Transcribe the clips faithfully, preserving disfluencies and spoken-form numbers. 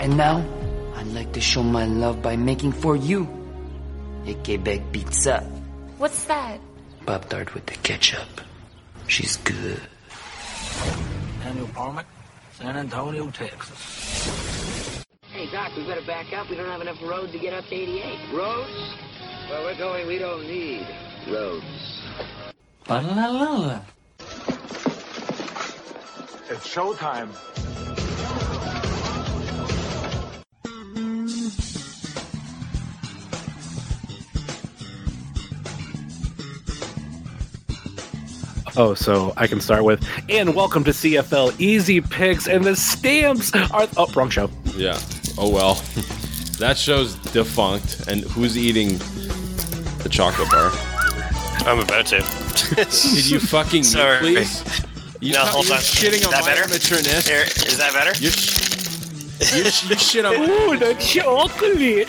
And now, I'd like to show my love by making for you a Quebec pizza. What's that? Pop-Tart with the ketchup. She's good. Daniel Parmack, San Antonio, Texas. Hey, Doc, we better back up. We don't have enough road to get up to eighty-eight. Roads? Well, we're going, we don't need roads. Ba-la-la-la. It's showtime. Oh, so I can start with, and welcome to C F L Easy Picks, and the stamps are, oh, wrong show. Yeah. Oh, well. That show's defunct, and who's eating the chocolate bar? I'm about to. Did you fucking Sorry. mute, please? You no, t- hold you're on. shitting Is on that my better? amateurness. Here, is that better? You're, sh- you're sh- you shit on Ooh, the chocolate.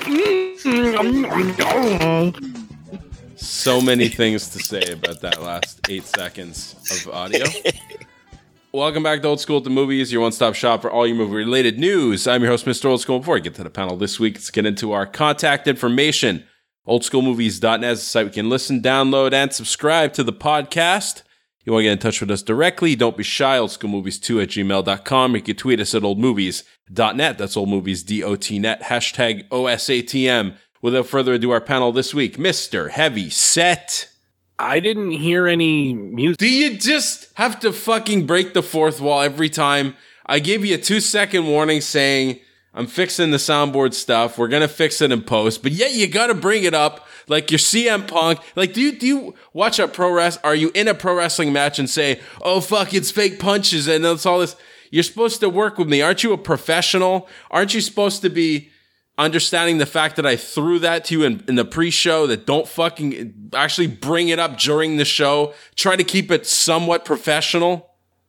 Mm-hmm. So many things to say about that last eight seconds of audio. Welcome back to Old School at the Movies, your one-stop shop for all your movie-related news. I'm your host, Mister Old School. Before I get to the panel this week, let's get into our contact information. old school movies dot net is the site we can listen, download, and subscribe to the podcast. You want to get in touch with us directly, don't be shy, old school movies two at gmail dot com. You can tweet us at old movies dot net. That's oldmovies, D O T net, hashtag O S A T M. Without further ado, our panel this week, Mister Heavy Set. I didn't hear any music. Do you just have to fucking break the fourth wall every time? I gave you a two-second warning saying, I'm fixing the soundboard stuff. We're going to fix it in post. But yet you got to bring it up like you're C M Punk. Like, do you, do you watch a pro wrestling? Are you in a pro wrestling match and say, oh, fuck, it's fake punches and it's all this? You're supposed to work with me. Aren't you a professional? Aren't you supposed to be understanding the fact that I threw that to you in, in the pre-show, that don't fucking actually bring it up during the show? Try to keep it somewhat professional.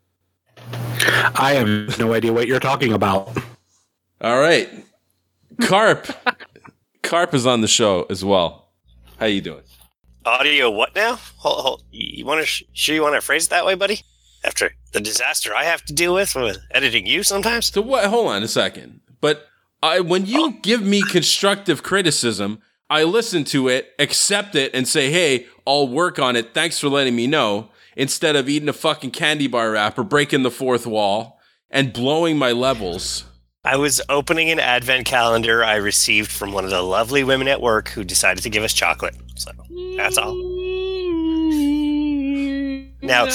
I have no idea what you're talking about. All right. Carp. Carp is on the show as well. How you doing? Audio what now? Hold, hold. You want to sh- sure you want to phrase it that way, buddy? After the disaster I have to deal with with editing you sometimes? So what? Hold on a second. But I, when you Oh. give me constructive criticism, I listen to it, accept it, and say, hey, I'll work on it. Thanks for letting me know. Instead of eating a fucking candy bar wrapper, breaking the fourth wall, and blowing my levels. I was opening an advent calendar I received from one of the lovely women at work who decided to give us chocolate. So, that's all. Now,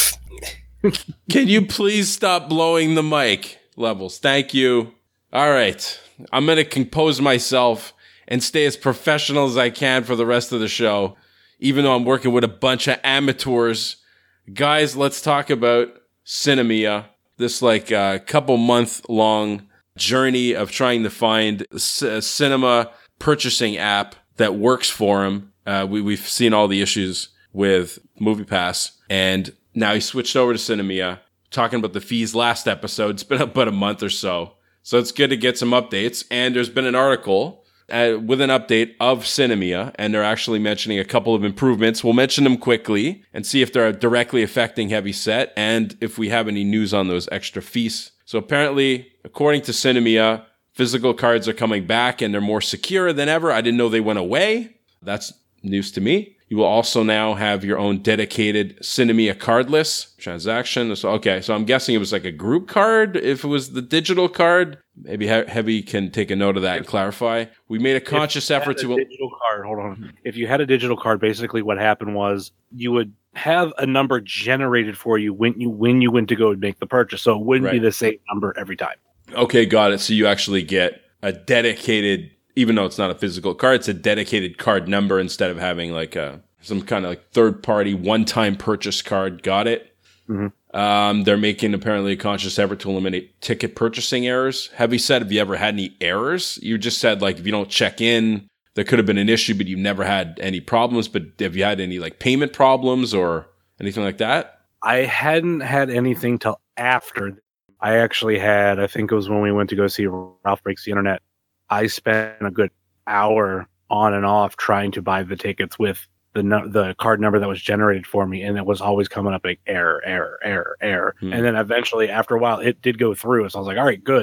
Can you please stop blowing the mic levels? Thank you. All right. I'm going to compose myself and stay as professional as I can for the rest of the show, even though I'm working with a bunch of amateurs. Guys, let's talk about Cinemia. This like uh, couple month long journey of trying to find a c- cinema purchasing app that works for him. Uh, we, we've seen all the issues with MoviePass, and now he switched over to Cinemia. Talking about the fees last episode. It's been about a month or so. So it's good to get some updates. And there's been an article uh, with an update of Cinemia, and they're actually mentioning a couple of improvements. We'll mention them quickly and see if they're directly affecting Heavy Set and if we have any news on those extra fees. So apparently, according to Cinemia, physical cards are coming back and they're more secure than ever. I didn't know they went away. That's news to me. You will also now have your own dedicated Cinemia cardless transaction. So, okay, so I'm guessing it was like a group card. If it was the digital card, maybe He- Heavy can take a note of that and clarify. We made a conscious effort to... digital card, hold on. If you had a digital card, basically what happened was you would have a number generated for you when you when you went to go make the purchase. So it wouldn't be Right. the same number every time. Okay, got it. So you actually get a dedicated, even though it's not a physical card, it's a dedicated card number instead of having like a some kind of like third party one time purchase card. Got it. Mm-hmm. Um, they're making apparently a conscious effort to eliminate ticket purchasing errors. Have you said, have you ever had any errors? You just said like if you don't check in, there could have been an issue, but you've never had any problems. But have you had any like payment problems or anything like that? I hadn't had anything till after. I actually had, I think it was when we went to go see Ralph Breaks the Internet. I spent a good hour on and off trying to buy the tickets with the no, the card number that was generated for me, and it was always coming up like error, error, error, error. Hmm. And then eventually, after a while, it did go through. So I was like, all right, good.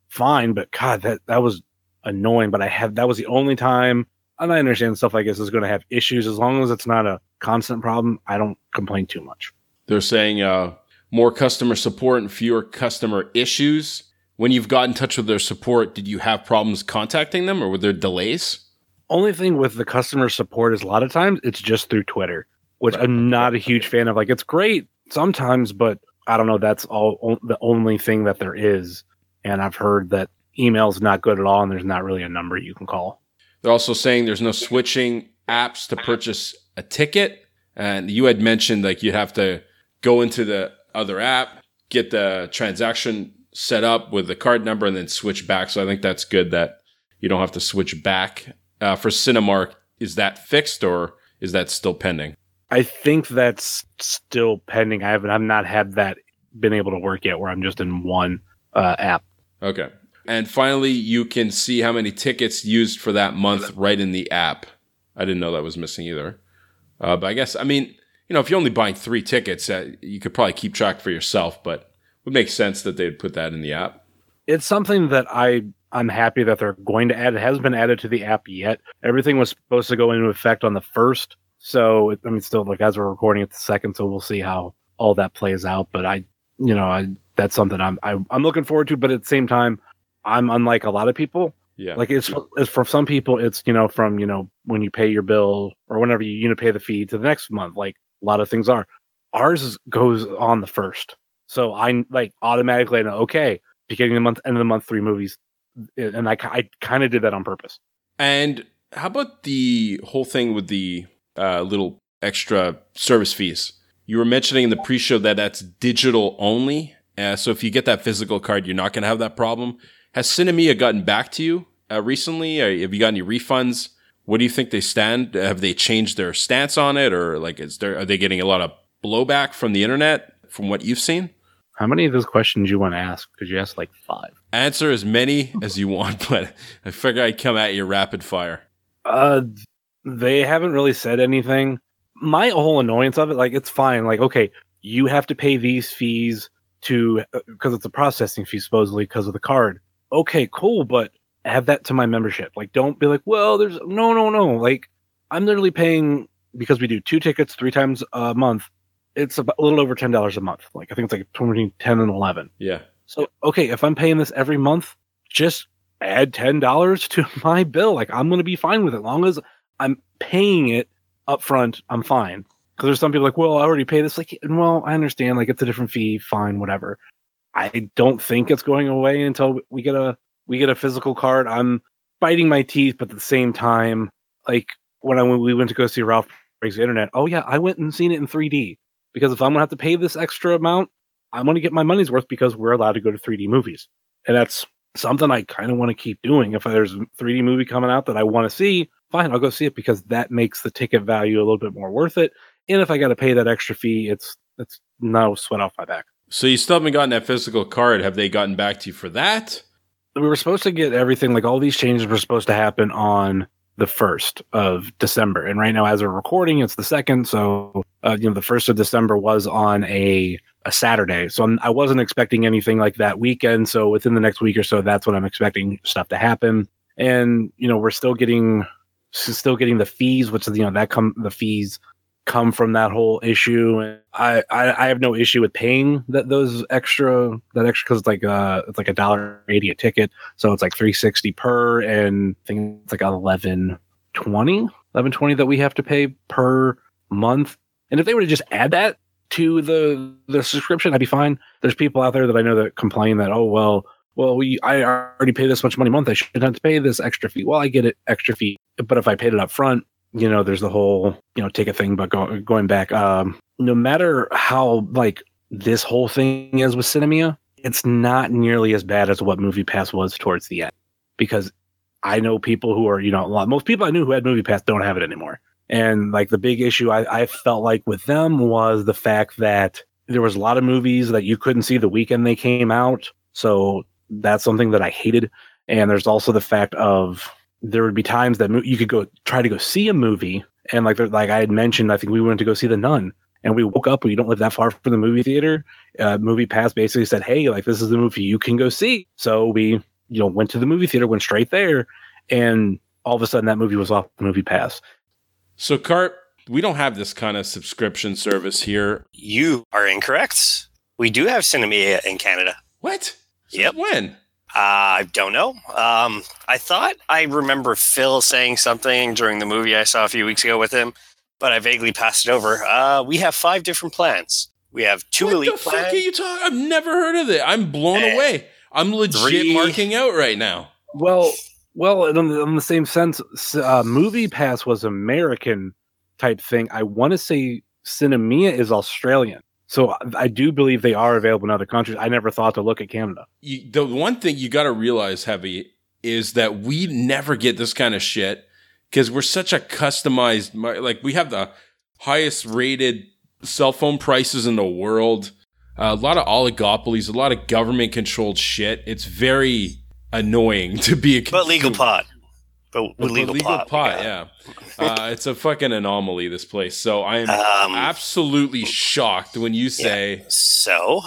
fine. But God, that that was annoying. But I had that was the only time. And I understand stuff like this is going to have issues. As long as it's not a constant problem, I don't complain too much. They're saying uh, more customer support and fewer customer issues. When you've got in touch with their support, did you have problems contacting them or were there delays? Only thing with the customer support is a lot of times it's just through Twitter, which I'm not a huge fan of. Like, it's great sometimes, but I don't know. That's all o- the only thing that there is. And I've heard that email's not good at all, and there's not really a number you can call. They're also saying there's no switching apps to purchase a ticket. And you had mentioned like you'd have to go into the other app, get the transaction set up with the card number, and then switch back. So I think that's good that you don't have to switch back. Uh, for Cinemark, is that fixed or is that still pending? I think that's still pending. I haven't, I've not had that been able to work yet where I'm just in one uh, app. Okay. And finally, you can see how many tickets used for that month right in the app. I didn't know that was missing either. Uh, but I guess, I mean, you know, if you're only buying three tickets, uh, you could probably keep track for yourself, but it would make sense that they'd put that in the app. It's something that I, I'm happy that they're going to add. It hasn't been added to the app yet. Everything was supposed to go into effect on the first. So, I mean, still, like, as we're recording it the second, so we'll see how all that plays out. But I, you know, I, that's something I'm, I, I'm looking forward to, but at the same time, I'm unlike a lot of people. Yeah. Like it's, it's for some people, it's, you know, from, you know, when you pay your bill or whenever you, you know, pay the fee to the next month, like a lot of things are. Ours is, goes on the first. So I like automatically know, okay, beginning of the month, end of the month, three movies. And I, I kind of did that on purpose. And how about the whole thing with the uh, little extra service fees? You were mentioning in the pre-show that that's digital only. Uh, so if you get that physical card, you're not going to have that problem. Has Cinemia gotten back to you uh, recently? Or have you got any refunds? What do you think they stand? Have they changed their stance on it? Or like, is there, are they getting a lot of blowback from the internet from what you've seen? How many of those questions you want to ask? Because you asked like five. Answer as many as you want, but I figure I'd come at you rapid fire. Uh, they haven't really said anything. My whole annoyance of it, like, it's fine. Like, okay, you have to pay these fees to, because it's a processing fee supposedly because of the card. Okay, cool, but have that to my membership. Like, don't be like, well, there's no, no, no. Like, I'm literally paying, because we do two tickets three times a month. It's about a little over ten dollars a month. Like, I think it's like between ten and eleven. Yeah. So, okay, if I'm paying this every month, just add ten dollars to my bill. Like, I'm going to be fine with it. As long as I'm paying it up front, I'm fine. Because there's some people like, well, I already paid this. Like, well, I understand. Like, it's a different fee. Fine, whatever. I don't think it's going away until we get a we get a physical card. I'm biting my teeth, but at the same time, like when I when we went to go see Ralph Breaks the Internet, oh yeah, I went and seen it in three D because if I'm gonna have to pay this extra amount, I'm gonna get my money's worth because we're allowed to go to three D movies, and that's something I kind of want to keep doing. If there's a three D movie coming out that I want to see, fine, I'll go see it because that makes the ticket value a little bit more worth it. And if I got to pay that extra fee, it's it's no sweat off my back. So you still haven't gotten that physical card. Have they gotten back to you for that? We were supposed to get everything, like all these changes were supposed to happen on the first of December. And right now, as we're recording, it's the second. So, uh, you know, the first of December was on a, a Saturday. So I'm, I wasn't expecting anything like that weekend. So within the next week or so, that's when I'm expecting stuff to happen. And, you know, we're still getting, still getting the fees, which is, you know, that come, the fees come from that whole issue. And I, I, I have no issue with paying that those extra that extra because it's like uh it's like a dollar eighty a ticket, so it's like three sixty per, and I think it's like eleven twenty that we have to pay per month. And if they were to just add that to the the subscription, I'd be fine. There's people out there that I know that complain that, oh well, well we I already pay this much money a month, I shouldn't have to pay this extra fee. Well, I get it extra fee, but if I paid it up front, you know, there's the whole, you know, ticket thing, but go, going back, um, no matter how, like, this whole thing is with Cinemia, it's not nearly as bad as what MoviePass was towards the end. Because I know people who are, you know, a lot, most people I knew who had MoviePass don't have it anymore. And, like, the big issue I, I felt like with them was the fact that there was a lot of movies that you couldn't see the weekend they came out. So that's something that I hated. And there's also the fact of, there would be times that you could go try to go see a movie. And like, like I had mentioned, I think we went to go see The Nun, and we woke up, we don't live that far from the movie theater. Uh, MoviePass basically said, hey, like, this is the movie you can go see. So we you know, went to the movie theater, went straight there, and all of a sudden that movie was off the Movie Pass. So, Carp, we don't have this kind of subscription service here. You are incorrect. We do have Cinemia in Canada. What? Yep. When? Uh, I don't know. Um, I thought I remember Phil saying something during the movie I saw a few weeks ago with him, but I vaguely passed it over. Uh, we have five different plans. We have two what elite the plans. fuck are you talking? I've never heard of it. I'm blown And away. I'm legit three- marking out right now. Well, well, in the, in the same sense, uh, Movie Pass was American type thing. I want to say Cinemia is Australian. So I, I do believe they are available in other countries. I never thought to look at Canada. You, the one thing you got to realize, Heavy, is that we never get this kind of shit because we're such a customized, mar- like we have the highest rated cell phone prices in the world. Uh, a lot of oligopolies, a lot of government controlled shit. It's very annoying to be a consumer. But legal pot. But with But legal, legal pot. pot, we got- yeah. Uh, it's a fucking anomaly, this place. So I am Um, absolutely shocked when you say, So,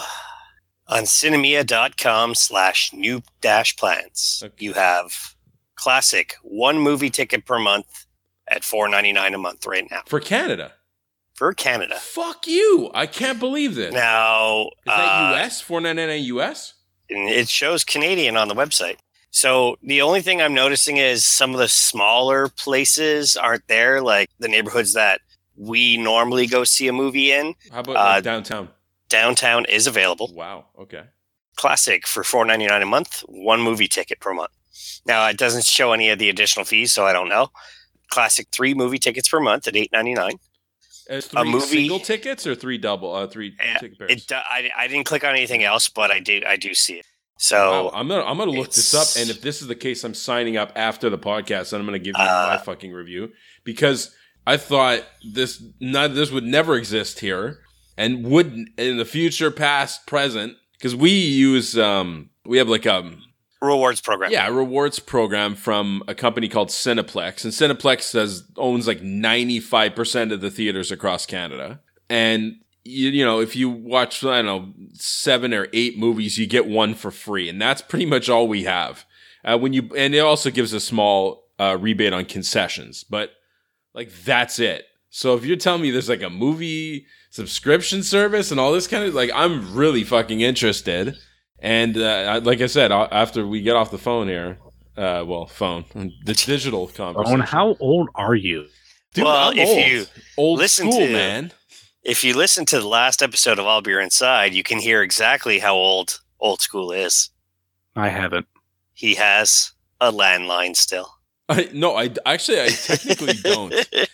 on cinemia.com slash new dash plans, Okay. you have classic one movie ticket per month at four ninety-nine a month right now for Canada. for Canada. Fuck you. I can't believe this. Now, Is that uh, U S? four ninety-nine U S? and it shows Canadian on the website. So the only thing I'm noticing is some of the smaller places aren't there, like the neighborhoods that we normally go see a movie in. How about Uh, like, downtown? Downtown is available. Wow. Okay. Classic for four ninety-nine a month, one movie ticket per month. Now it doesn't show any of the additional fees, so I don't know. Classic three movie tickets per month at eight ninety-nine. Is three A movie- single tickets or three double? Uh, three Yeah, ticket pairs. It do- I, I didn't click on anything else, but I do I do see it. Wow, So I'm gonna I'm gonna look this up, it's- and if this is the case, I'm signing up after the podcast, and I'm gonna give you Uh, my fucking review because I thought this not this would never exist here, and would in the future, past, present, because we use um we have like um rewards program. yeah a rewards program from a company called Cineplex, and Cineplex has owns like ninety-five percent of the theaters across Canada, and you, you know, if you watch, I don't know, seven or eight movies, you get one for free. And that's pretty much all we have. Uh, when you, and it also gives a small uh, rebate on concessions, but like, that's it. So if you're telling me there's like a movie subscription service and all this kind of, like, I'm really fucking interested. And uh, like I said, uh, after we get off the phone here, uh, well, phone, the digital conversation. Owen, how old are you? Dude, Well, I'm if old. you old listen school, to- man. If you listen to the last episode of I'll Be Inside, you can hear exactly how old Old School is. I haven't. He has a landline still. I, no, I actually I technically don't.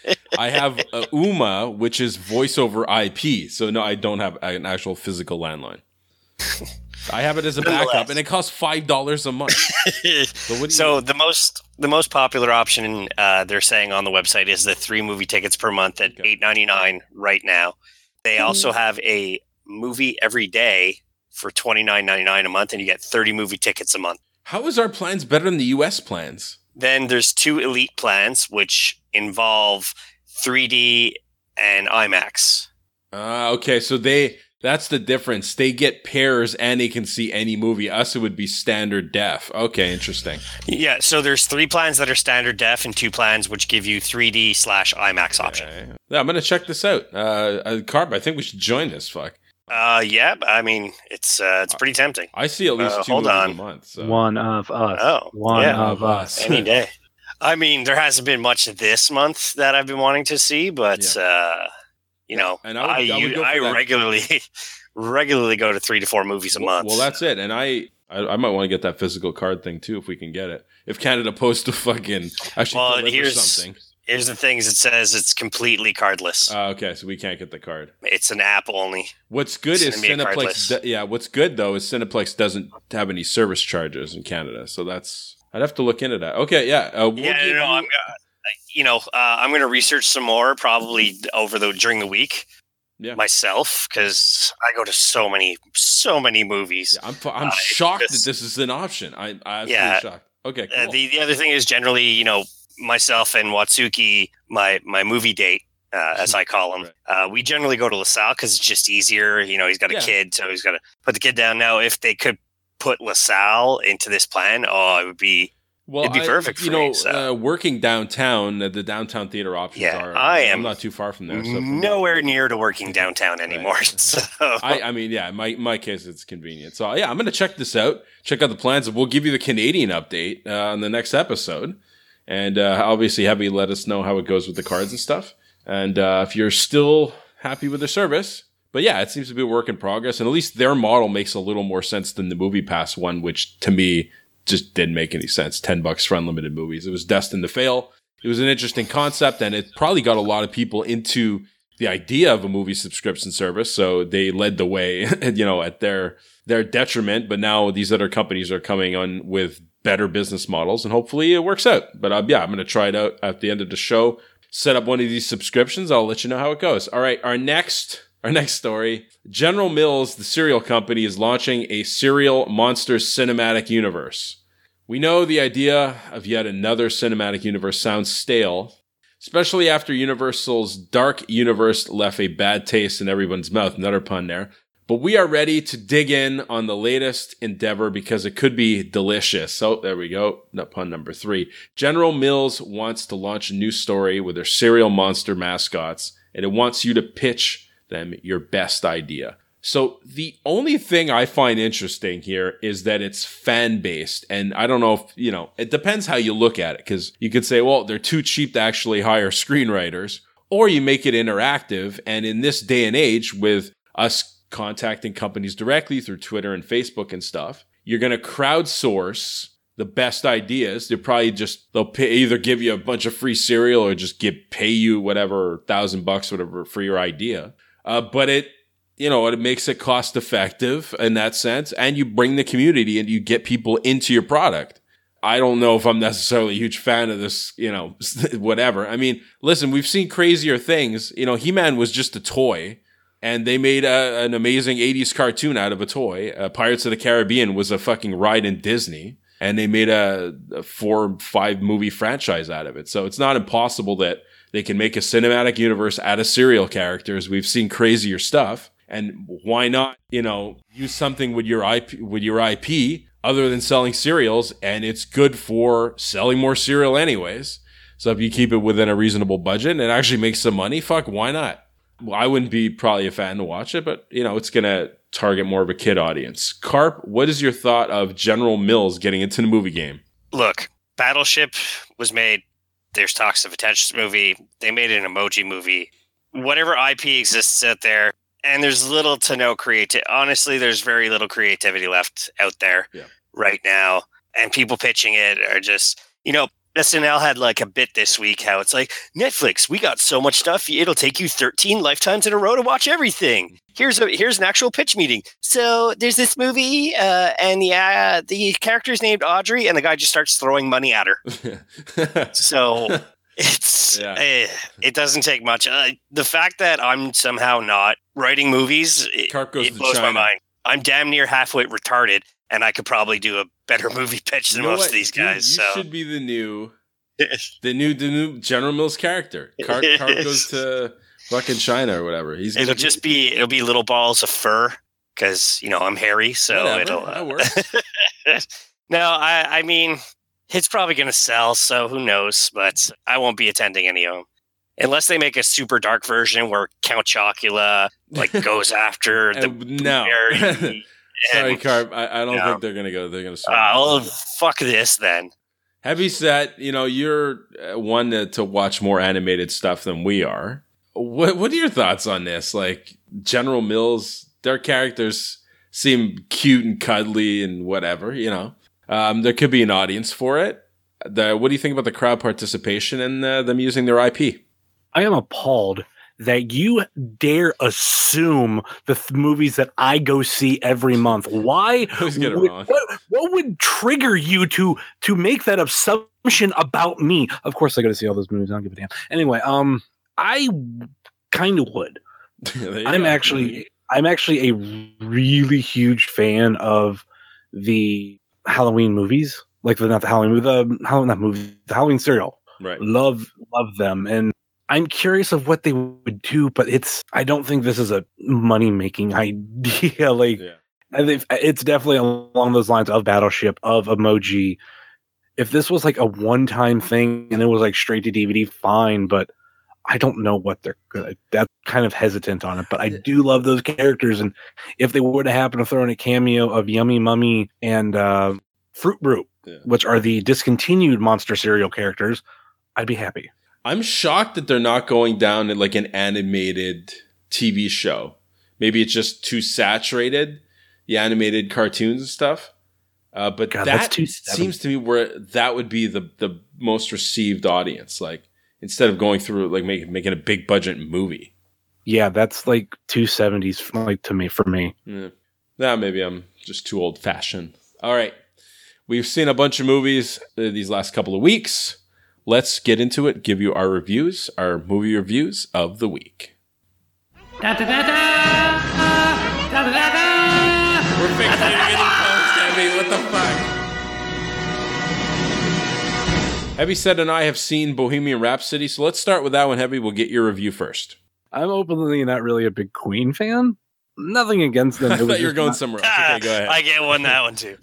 I have a Uma, which is voice over I P. So no, I don't have an actual physical landline. I have it as a backup, Nonetheless. and it costs five dollars a month. So, what do you So the most the most popular option uh, they're saying on the website is the three movie tickets per month at Okay. eight ninety nine right now. They also have a movie every day for twenty nine ninety nine a month, and you get thirty movie tickets a month. How is our plans better than the U S plans? Then there's two elite plans, which involve three D and IMAX. Uh, okay, so they that's the difference. They get pairs and they can see any movie. Us, it would be standard def. Okay, interesting. Yeah, so there's three plans that are standard def and two plans which give you three D slash IMAX option. Okay. Yeah, I'm gonna check this out. Uh, uh, Carb, I think we should join this. Fuck. Uh, yeah, I mean it's uh, it's pretty tempting. I see at least Uh, two hold movies on. a month. So. One of us. Oh, One yeah. of us. Any day. I mean, there hasn't been much this month that I've been wanting to see, but uh, you know, And I would- I I would u- go for I that. regularly regularly go to three to four movies a Well, month. well, that's it. And I, I, I might want to get that physical card thing too if we can get it. If Canada Post to fucking actually Well, deliver here's- something. Here's the things it says: it's completely cardless. Uh, okay, so we can't get the card. It's an app only. What's good is Cinema Cineplex. cardless. do- yeah, what's good though is Cineplex doesn't have any service charges in Canada, so that's I'd have to look into that. Okay, yeah, uh, we'll yeah, give no, you- I'm. Uh, you know, uh, I'm going to research some more probably over the during the week Yeah. myself because I go to so many so many movies. Yeah, I'm fu- I'm Uh, shocked this- that this is an option. I, I'm absolutely Yeah. shocked. Okay, Uh, cool. the the other thing is generally, you know, myself and Watsuki, my my movie date, uh, as I call him, Right. uh, we generally go to LaSalle because it's just easier. You know, he's got a Yeah. kid, so he's got to put the kid down. Now, if they could put LaSalle into this plan, oh, it would be Well, it'd be I- perfect you for know, me. So. uh, working downtown, uh, the downtown theater options Yeah, are. I I'm am not too far from there. So from nowhere near to working downtown anymore. So I, I mean, yeah, in my, in my case, it's convenient. So, yeah, I'm going to check this out, check out the plans, and we'll give you the Canadian update uh, on the next episode. And uh, obviously, have you let us know how it goes with the cards and stuff. And uh, if you're still happy with the service. But yeah, it seems to be a work in progress. And at least their model makes a little more sense than the Movie Pass one, which to me just didn't make any sense. ten bucks for unlimited movies. It was destined to fail. It was an interesting concept, and it probably got a lot of people into the idea of a movie subscription service. So they led the way, you know, at their their detriment. But now these other companies are coming on with better business models, and hopefully it works out. But uh, yeah, I'm going to try it out at the end of the show. Set up one of these subscriptions. I'll let you know how it goes. All right, our next our next story. General Mills, the cereal company, is launching a cereal monsters cinematic universe. We know the idea of yet another cinematic universe sounds stale, especially after Universal's Dark Universe left a bad taste in everyone's mouth. Another pun there. But we are ready to dig in on the latest endeavor because it could be delicious. So there we go. No, pun number three. General Mills wants to launch a new story with their cereal monster mascots, and it wants you to pitch them your best idea. So the only thing I find interesting here is that it's fan-based. And I don't know if, you know, it depends how you look at it. Because you could say, well, they're too cheap to actually hire screenwriters. Or you make it interactive. And in this day and age, with us contacting companies directly through Twitter and Facebook and stuff, you're going to crowdsource the best ideas. They'll probably just, they'll pay, either give you a bunch of free cereal or just give, pay you whatever, thousand bucks, whatever, for your idea. Uh, but it, you know, it makes it cost effective in that sense. And you bring the community and you get people into your product. I don't know if I'm necessarily a huge fan of this, you know, whatever. I mean, listen, we've seen crazier things. You know, He-Man was just a toy. And they made a, an amazing eighties cartoon out of a toy. Uh, Pirates of the Caribbean was a fucking ride in Disney. And they made a, a four, five movie franchise out of it. So it's not impossible that they can make a cinematic universe out of serial characters. We've seen crazier stuff. And why not, you know, use something with your I P, with your I P other than selling cereals? And it's good for selling more cereal anyways. So if you keep it within a reasonable budget and it actually makes some money, fuck, why not? Well, I wouldn't be probably a fan to watch it, but, you know, it's going to target more of a kid audience. Carp, what is your thought of General Mills getting into the movie game? Look, Battleship was made. There's talks of a Tetris movie. They made an emoji movie. Whatever I P exists out there, and there's little to no creativity. Honestly, there's very little creativity left out there yeah. right now. And people pitching it are just, you know, S N L had like a bit this week how it's like, Netflix, we got so much stuff, it'll take you thirteen lifetimes in a row to watch everything. Here's a here's an actual pitch meeting. So there's this movie, uh, and the uh, the character's named Audrey, and the guy just starts throwing money at her. So it's Yeah. eh, it doesn't take much. Uh, the fact that I'm somehow not writing movies, it, Carp goes it to blows China. my mind. I'm damn near halfway retarded, and I could probably do a better movie pitch than You know most what? of these Dude, guys. you so should be the new, the new, the new General Mills character. Carp, Carp goes to fucking China or whatever. He's it'll gonna just be it'll be little balls of fur because you know I'm hairy, so Whatever, it'll. that Uh, works. no, I I mean it's probably gonna sell, so who knows? But I won't be attending any of them unless they make a super dark version where Count Chocula like goes after the Uh, no. berry. Sorry, and, Carp. I, I don't No. think they're gonna go. They're gonna. uh, oh, fuck this then. Heavy set. You know, you're uh, one to, to watch more animated stuff than we are. What What are your thoughts on this? Like General Mills, their characters seem cute and cuddly and whatever. You know, um, there could be an audience for it. The, what do you think about the crowd participation and uh, them using their I P? I am appalled that you dare assume the th- movies that I go see every month. Why? I always get it would- wrong. What, what would trigger you to to make that assumption about me? Of course, I go to see all those movies. I don't give a damn. Anyway, um, I kind of would. There you I'm go. actually I'm actually a really huge fan of the Halloween movies, like the not the Halloween the Halloween not movie the Halloween serial. right. Love love them, and I'm curious of what they would do, but it's I don't think this is a money making idea. Like Yeah. I think it's definitely along those lines of Battleship, of Emoji. If this was like a one-time thing and it was like straight to D V D, fine, but I don't know what they're good. That's kind of hesitant on it, but I do love those characters. And if they were to happen to throw in a cameo of Yummy Mummy and uh, Fruit Brute, yeah. which are the discontinued monster cereal characters, I'd be happy. I'm shocked that they're not going down in like an animated T V show. Maybe it's just too saturated, the animated cartoons and stuff. Uh, but God, that seems to me where that would be the, the most received audience. Like instead of going through like making making a big budget movie. Yeah, that's like two seventies like to me for me. Yeah. Nah, maybe I'm just too old fashioned. All right, we've seen a bunch of movies uh, these last couple of weeks. Let's get into it. Give you our reviews, our movie reviews of the week. Da, da, da, da, da, da, da, da. We're fixating any phones, Heavy. What the fuck? Heavy said and I have seen Bohemian Rhapsody, so let's start with that one, Heavy. We'll get your review first. I'm openly not really a big Queen fan. Nothing against them. I thought you were going not- somewhere else. Okay, go ahead. I get one that one too.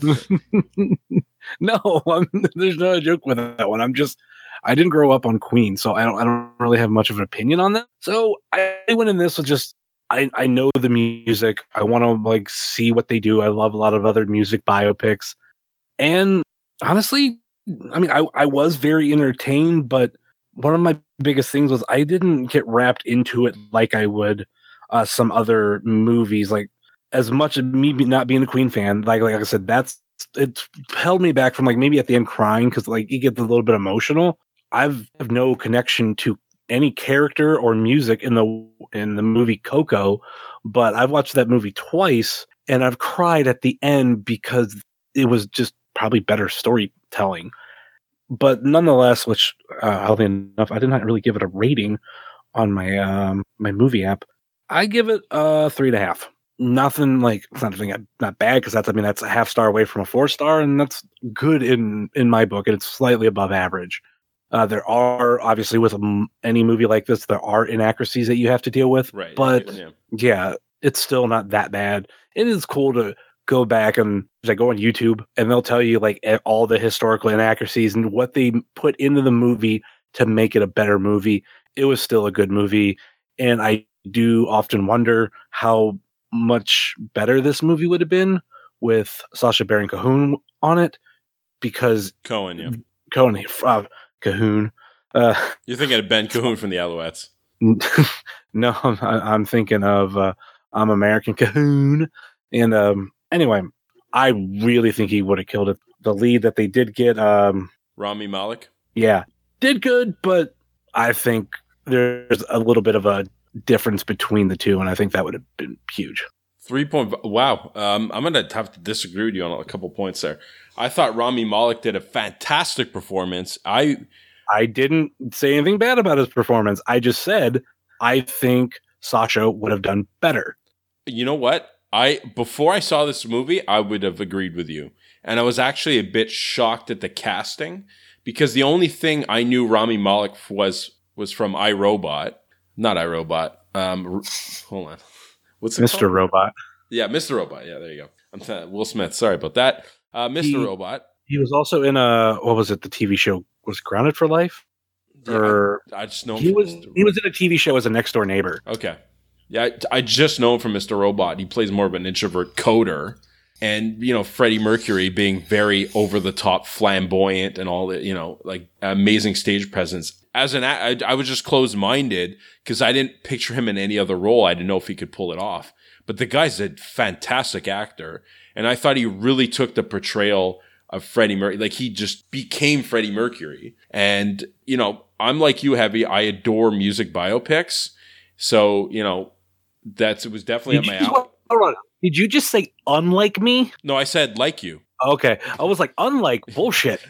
No, I'm, there's no joke with that one. I'm just, I didn't grow up on Queen, so I don't, I don't really have much of an opinion on that. So I went in this with just, I, I know the music. I want to like see what they do. I love a lot of other music biopics, and honestly, I mean, I, I was very entertained, but one of my biggest things was I didn't get wrapped into it like I would uh, some other movies. Like as much as me not being a Queen fan, like like I said, that's it held me back from like maybe at the end crying because like you get a little bit emotional. I've have no connection to any character or music in the in the movie Coco, but I've watched that movie twice and I've cried at the end because it was just probably better storytelling. But nonetheless, which uh, oddly enough, I did not really give it a rating on my um, my movie app. I give it a three and a half. Nothing like it's not nothing not bad because that's I mean that's a half star away from a four star, and that's good in in my book, and it's slightly above average. Uh, there are obviously with a, any movie like this, there are inaccuracies that you have to deal with, right? But yeah. yeah, it's still not that bad. It is cool to go back and like go on YouTube and they'll tell you like all the historical inaccuracies and what they put into the movie to make it a better movie. It was still a good movie, and I do often wonder how much better this movie would have been with Sacha Baron Cohen on it, because Cohen, yeah, Cohen, uh, Cahoon. Uh, You're thinking of Ben Cahoon from the Alouettes. No, I'm, I'm thinking of uh, I'm American Cahoon. And um, anyway, I really think he would have killed it. The lead that they did get, um, Rami Malek, yeah, did good, but I think there's a little bit of a difference between the two, and I think that would have been huge. Three point. Wow. Um, I'm gonna have to disagree with you on a couple points there. I thought Rami Malek did a fantastic performance. I I didn't say anything bad about his performance. I just said I think Sacha would have done better. You know what? I before I saw this movie, I would have agreed with you, and I was actually a bit shocked at the casting because the only thing I knew Rami Malek was was from iRobot, not iRobot. Um, hold on. What's it Mister called? Robot. Yeah, Mister Robot. Yeah, there you go. I'm th- Will Smith. Sorry about that. Uh, Mister He, Robot. He was also in a what was it? The T V show was Grounded for Life. Yeah, or I, I just know him he from was Mister he was in a T V show as a next door neighbor. Okay, yeah, I, I just know him from Mister Robot. He plays more of an introvert coder, and you know Freddie Mercury being very over the top, flamboyant, and all that. You know, like amazing stage presence. As an, I, I was just closed minded because I didn't picture him in any other role. I didn't know if he could pull it off. But the guy's a fantastic actor. And I thought he really took the portrayal of Freddie Mercury. Like he just became Freddie Mercury. And, you know, I'm like you, Heavy. I adore music biopics. So, you know, that's, it was definitely Did at you my just, hold on. Did you just say unlike me? No, I said like you. Okay. I was like, unlike bullshit.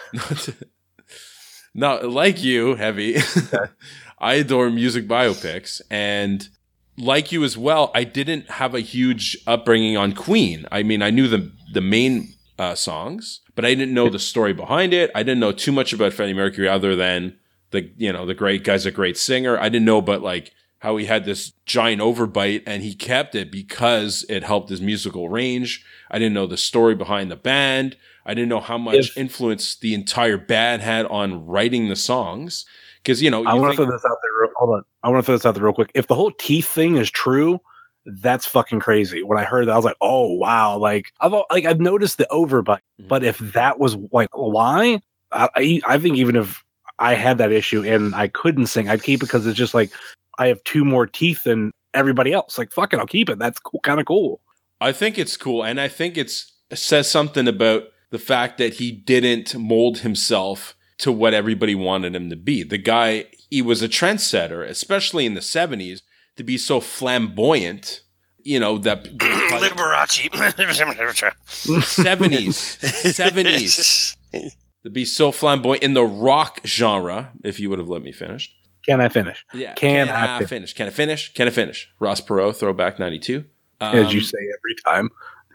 No, like you, Heavy. I adore music biopics. And like you as well, I didn't have a huge upbringing on Queen. I mean, I knew the the main uh, songs, but I didn't know the story behind it. I didn't know too much about Freddie Mercury other than the you know the great guy's a great singer. I didn't know about like how he had this giant overbite and he kept it because it helped his musical range. I didn't know the story behind the band. I didn't know how much if, influence the entire band had on writing the songs. Because, you know, you I want to think- throw this out there. Real, hold on. I want to throw this out there real quick. If the whole teeth thing is true, that's fucking crazy. When I heard that, I was like, oh, wow. Like, I've like I've noticed the overbite. Mm-hmm. But if that was like why, I, I, I think even if I had that issue and I couldn't sing, I'd keep it because it's just like, I have two more teeth than everybody else. Like, fuck it, I'll keep it. That's cool, kind of cool. I think it's cool. And I think it's it says something about the fact that he didn't mold himself to what everybody wanted him to be. The guy, he was a trendsetter, especially in the seventies, to be so flamboyant, you know, that... Liberace. seventies. seventies. To be so flamboyant in the rock genre, if you would have let me finish. Can I finish? Yeah. Can, can I, I finish? finish? Can I finish? Can I finish? Ross Perot, Throwback ninety-two. Um, As you say every time.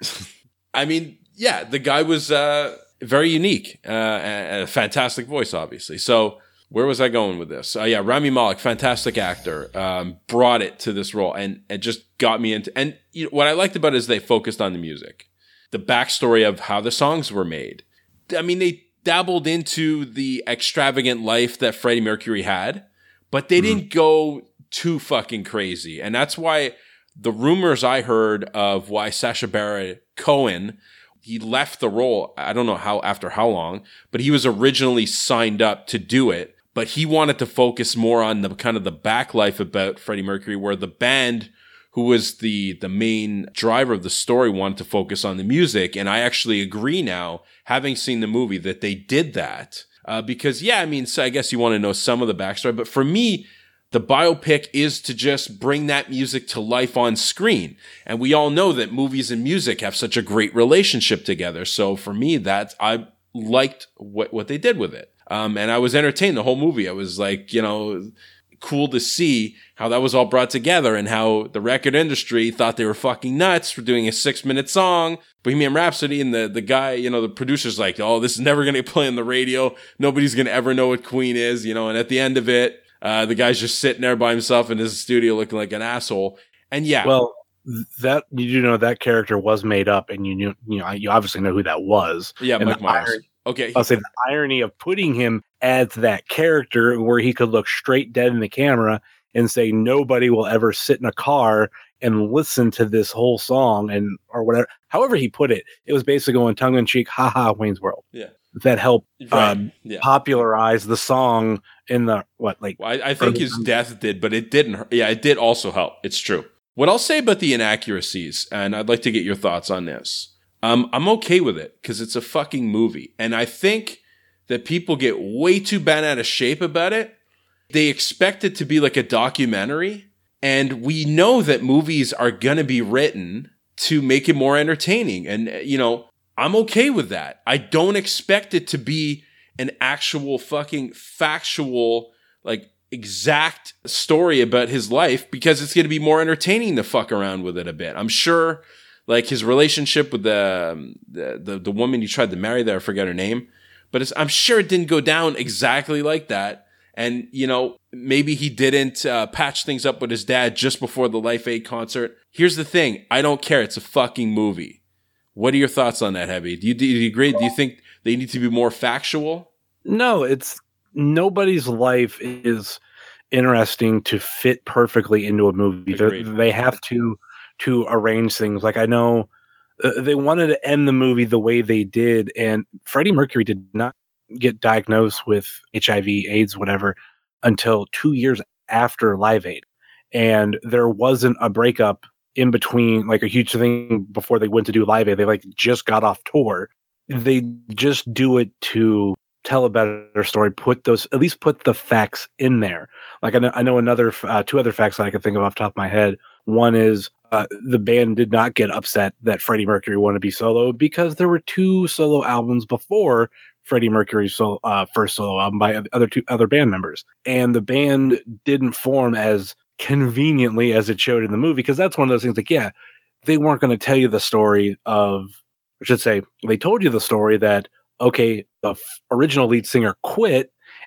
I mean, yeah, the guy was uh, very unique uh, and a fantastic voice, obviously. So where was I going with this? Uh, yeah, Rami Malek, fantastic actor, um, brought it to this role and it just got me into. And you know, what I liked about it is they focused on the music, the backstory of how the songs were made. I mean, they dabbled into the extravagant life that Freddie Mercury had, but they mm. didn't go too fucking crazy. And that's why the rumors I heard of why Sacha Baron Cohen, he left the role, I don't know how, after how long, but he was originally signed up to do it, but he wanted to focus more on the kind of the back life about Freddie Mercury, where the band, who was the, the main driver of the story, wanted to focus on the music. And I actually agree now, having seen the movie, that they did that. Uh, because, yeah, I mean, so I guess you want to know some of the backstory, but for me, the biopic is to just bring that music to life on screen. And we all know that movies and music have such a great relationship together. So for me, that I liked what, what they did with it. Um, and I was entertained the whole movie. I was like, you know, cool to see how that was all brought together and how the record industry thought they were fucking nuts for doing a six minute song, Bohemian Rhapsody. And the, the guy, you know, the producer's like, oh, this is never going to play on the radio. Nobody's going to ever know what Queen is, you know, and at the end of it, Uh, the guy's just sitting there by himself in his studio looking like an asshole. And yeah. Well, that, you do know that character was made up and you knew, you know, you obviously know who that was. Yeah, and Mike Myers. Irony, okay. I'll say the irony of putting him as that character where he could look straight dead in the camera and say, nobody will ever sit in a car and listen to this whole song and, or whatever. However he put it, it was basically going tongue in cheek, haha, Wayne's World. Yeah. That helped right. um, yeah. popularize the song in the what like. Well, I, I think his death did, but it didn't. Yeah, it did also help. It's true. What I'll say about the inaccuracies, and I'd like to get your thoughts on this. Um, I'm okay with it because it's a fucking movie, and I think that people get way too bent out of shape about it. They expect it to be like a documentary, and we know that movies are gonna be written to make it more entertaining, and you know. I'm okay with that. I don't expect it to be an actual fucking factual, like exact story about his life because it's going to be more entertaining to fuck around with it a bit. I'm sure like his relationship with the, the, the, the woman he tried to marry there, I forget her name, but it's, I'm sure it didn't go down exactly like that. And, you know, maybe he didn't uh, patch things up with his dad just before the Life Aid concert. Here's the thing. I don't care. It's a fucking movie. What are your thoughts on that, Heavy? Do you, do you agree? Do you think they need to be more factual? No, it's nobody's life is interesting to fit perfectly into a movie. They have to to arrange things. Like I know uh, they wanted to end the movie the way they did, and Freddie Mercury did not get diagnosed with H I V, AIDS, whatever, until two years after Live Aid, and there wasn't a breakup in between, like a huge thing before they went to do Live Aid. They like just got off tour. They just do it to tell a better story, put those, at least put the facts in there. Like I know, I know another, uh, two other facts that I can think of off the top of my head. One is uh, the band did not get upset that Freddie Mercury wanted to be solo because there were two solo albums before Freddie Mercury's solo, uh, first solo album by other two other band members. And the band didn't form as conveniently as it showed in the movie, because that's one of those things like, yeah, they weren't going to tell you the story of, I should say, they told you the story that, okay, the f- original lead singer quit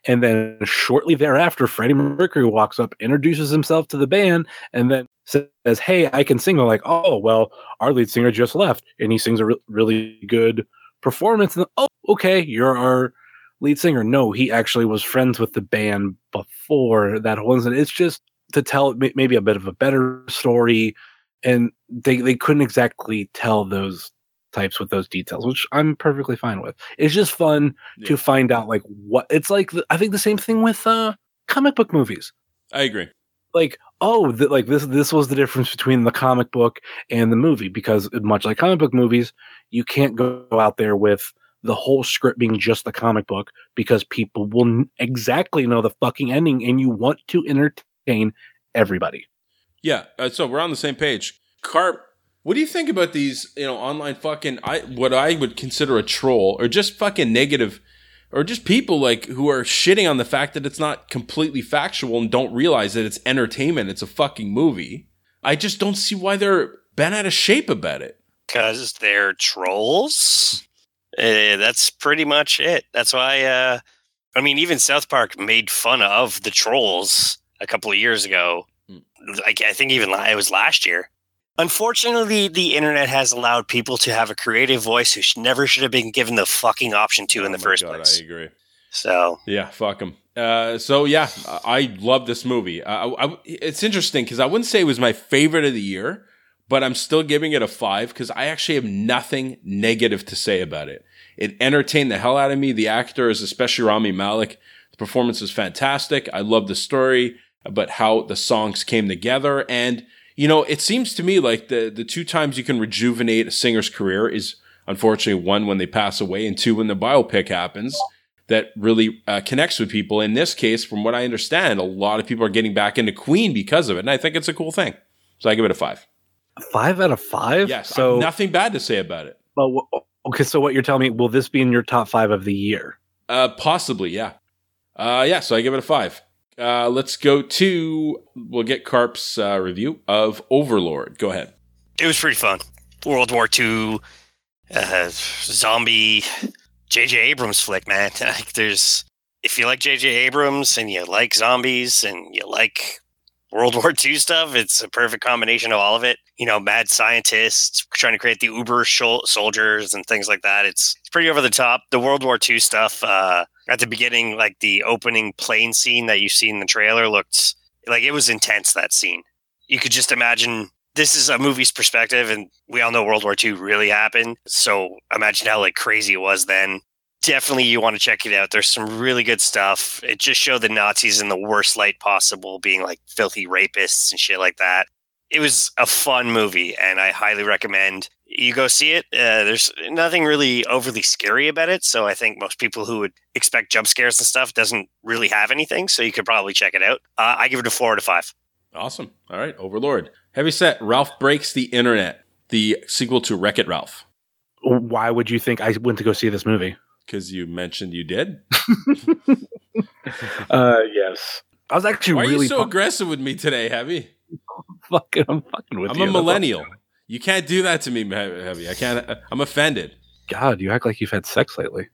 And then shortly thereafter, Freddie Mercury walks up, introduces himself to the band, and then says, "Hey, I can sing." They're like, "Oh, well, our lead singer just left," and he sings a re- really good performance. And oh, okay, you're our lead singer. No, he actually was friends with the band before that whole incident. It's just to tell maybe a bit of a better story, and they they couldn't exactly tell those types with those details, which I'm perfectly fine with. It's just fun yeah. to find out like what it's like. The, I think the same thing with uh, comic book movies. I agree. Like, oh, the, like this this was the difference between the comic book and the movie, because much like comic book movies, you can't go out there with the whole script being just the comic book, because people will n- exactly know the fucking ending, and you want to entertain everybody. Yeah, uh, so we're on the same page. Carp, what do you think about these, you know, online fucking, I what I would consider a troll, or just fucking negative, or just people like who are shitting on the fact that it's not completely factual and don't realize that it's entertainment, it's a fucking movie. I just don't see why they're bent out of shape about it. Because they're trolls. Uh, that's pretty much it. That's why, uh, I mean, even South Park made fun of the trolls a couple of years ago. Like, I think even it was last year. Unfortunately, the internet has allowed people to have a creative voice who sh- never should have been given the fucking option to oh in the first God, place. I agree. So yeah, fuck them. Uh, so yeah, I love this movie. Uh, I, I, it's interesting because I wouldn't say it was my favorite of the year, but I'm still giving it a five because I actually have nothing negative to say about it. It entertained the hell out of me. The actors, especially Rami Malek, the performance was fantastic. I love the story about how the songs came together. And, you know, it seems to me like the, the two times you can rejuvenate a singer's career is, unfortunately, one, when they pass away, and two, when the biopic happens that really uh, connects with people. In this case, from what I understand, a lot of people are getting back into Queen because of it. And I think it's a cool thing. So I give it a five. Five out of five? Yes. So nothing bad to say about it. But okay, so what you're telling me, will this be in your top five of the year? Uh, possibly, yeah. Uh, yeah, so I give it a five. Uh, let's go to, we'll get Carp's uh, review of Overlord. Go ahead. It was pretty fun. World War Two, uh, zombie, J J Abrams flick, man. Like, there's, if you like J J Abrams and you like zombies and you like World War Two stuff, it's a perfect combination of all of it. You know, mad scientists trying to create the Uber shol- soldiers and things like that. It's, it's pretty over the top. The World War Two stuff, uh, at the beginning, like the opening plane scene that you see in the trailer looked like it was intense, that scene. You could just imagine, this is a movie's perspective, and we all know World War Two really happened. So imagine how like crazy it was then. Definitely you want to check it out. There's some really good stuff. It just showed the Nazis in the worst light possible, being like filthy rapists and shit like that. It was a fun movie, and I highly recommend you go see it. Uh, there's nothing really overly scary about it, so I think most people who would expect jump scares and stuff doesn't really have anything, so you could probably check it out. Uh, I give it a four out of five. Awesome. All right, Overlord. Heavy set, Ralph Breaks the Internet, the sequel to Wreck-It Ralph. Why would you think I went to go see this movie? Because you mentioned you did. uh, yes. I was actually Why really... Why are you so pu- aggressive with me today, Heavy? fucking, I'm fucking with I'm you. I'm a millennial. You can't do that to me, Heavy. I can't. I'm offended. God, you act like you've had sex lately.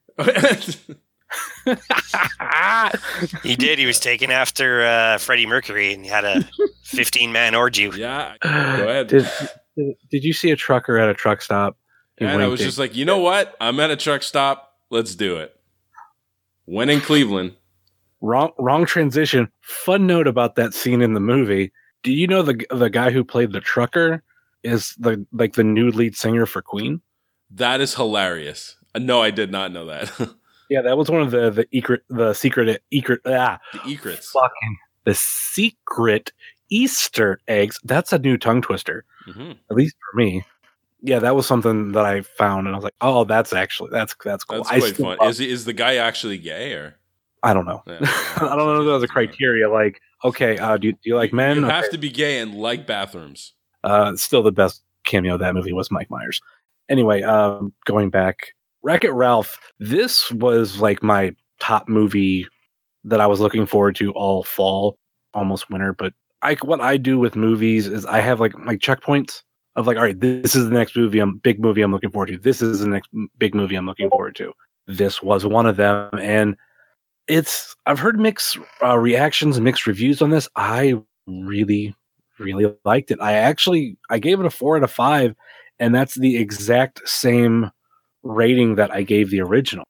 He did. He was taken after uh, Freddie Mercury, and he had a fifteen-man orgy. Yeah, go ahead. Did, did, did you see a trucker at a truck stop? He and I was just like, you know what? I'm at a truck stop. Let's do it. When in Cleveland. Wrong, wrong transition. Fun note about that scene in the movie. Do you know the the guy who played the trucker is the like the new lead singer for Queen? That is hilarious. No, I did not know that. Yeah, that was one of the the secret the secret secret ah the secrets. Fucking the secret Easter eggs. That's a new tongue twister. Mm-hmm. At least for me. Yeah, that was something that I found, and I was like, "Oh, that's actually that's that's cool." That's I quite fun. Is is the guy actually gay or? I don't know. Yeah, I don't know if that was a criteria. Like, okay, uh, do, you, do you like men? You okay. have to be gay and like bathrooms. Uh, still, the best cameo of that movie was Mike Myers. Anyway, um, going back, Wreck-It Ralph. This was like my top movie that I was looking forward to all fall, almost winter. But I, what I do with movies is I have like like checkpoints of like, all right, this is the next movie, I'm big movie I'm looking forward to. This is the next big movie I'm looking forward to. This was one of them, and it's I've heard mixed uh, reactions and mixed reviews on this. I really, really liked it. I actually I gave it a four out of five, and that's the exact same rating that I gave the original.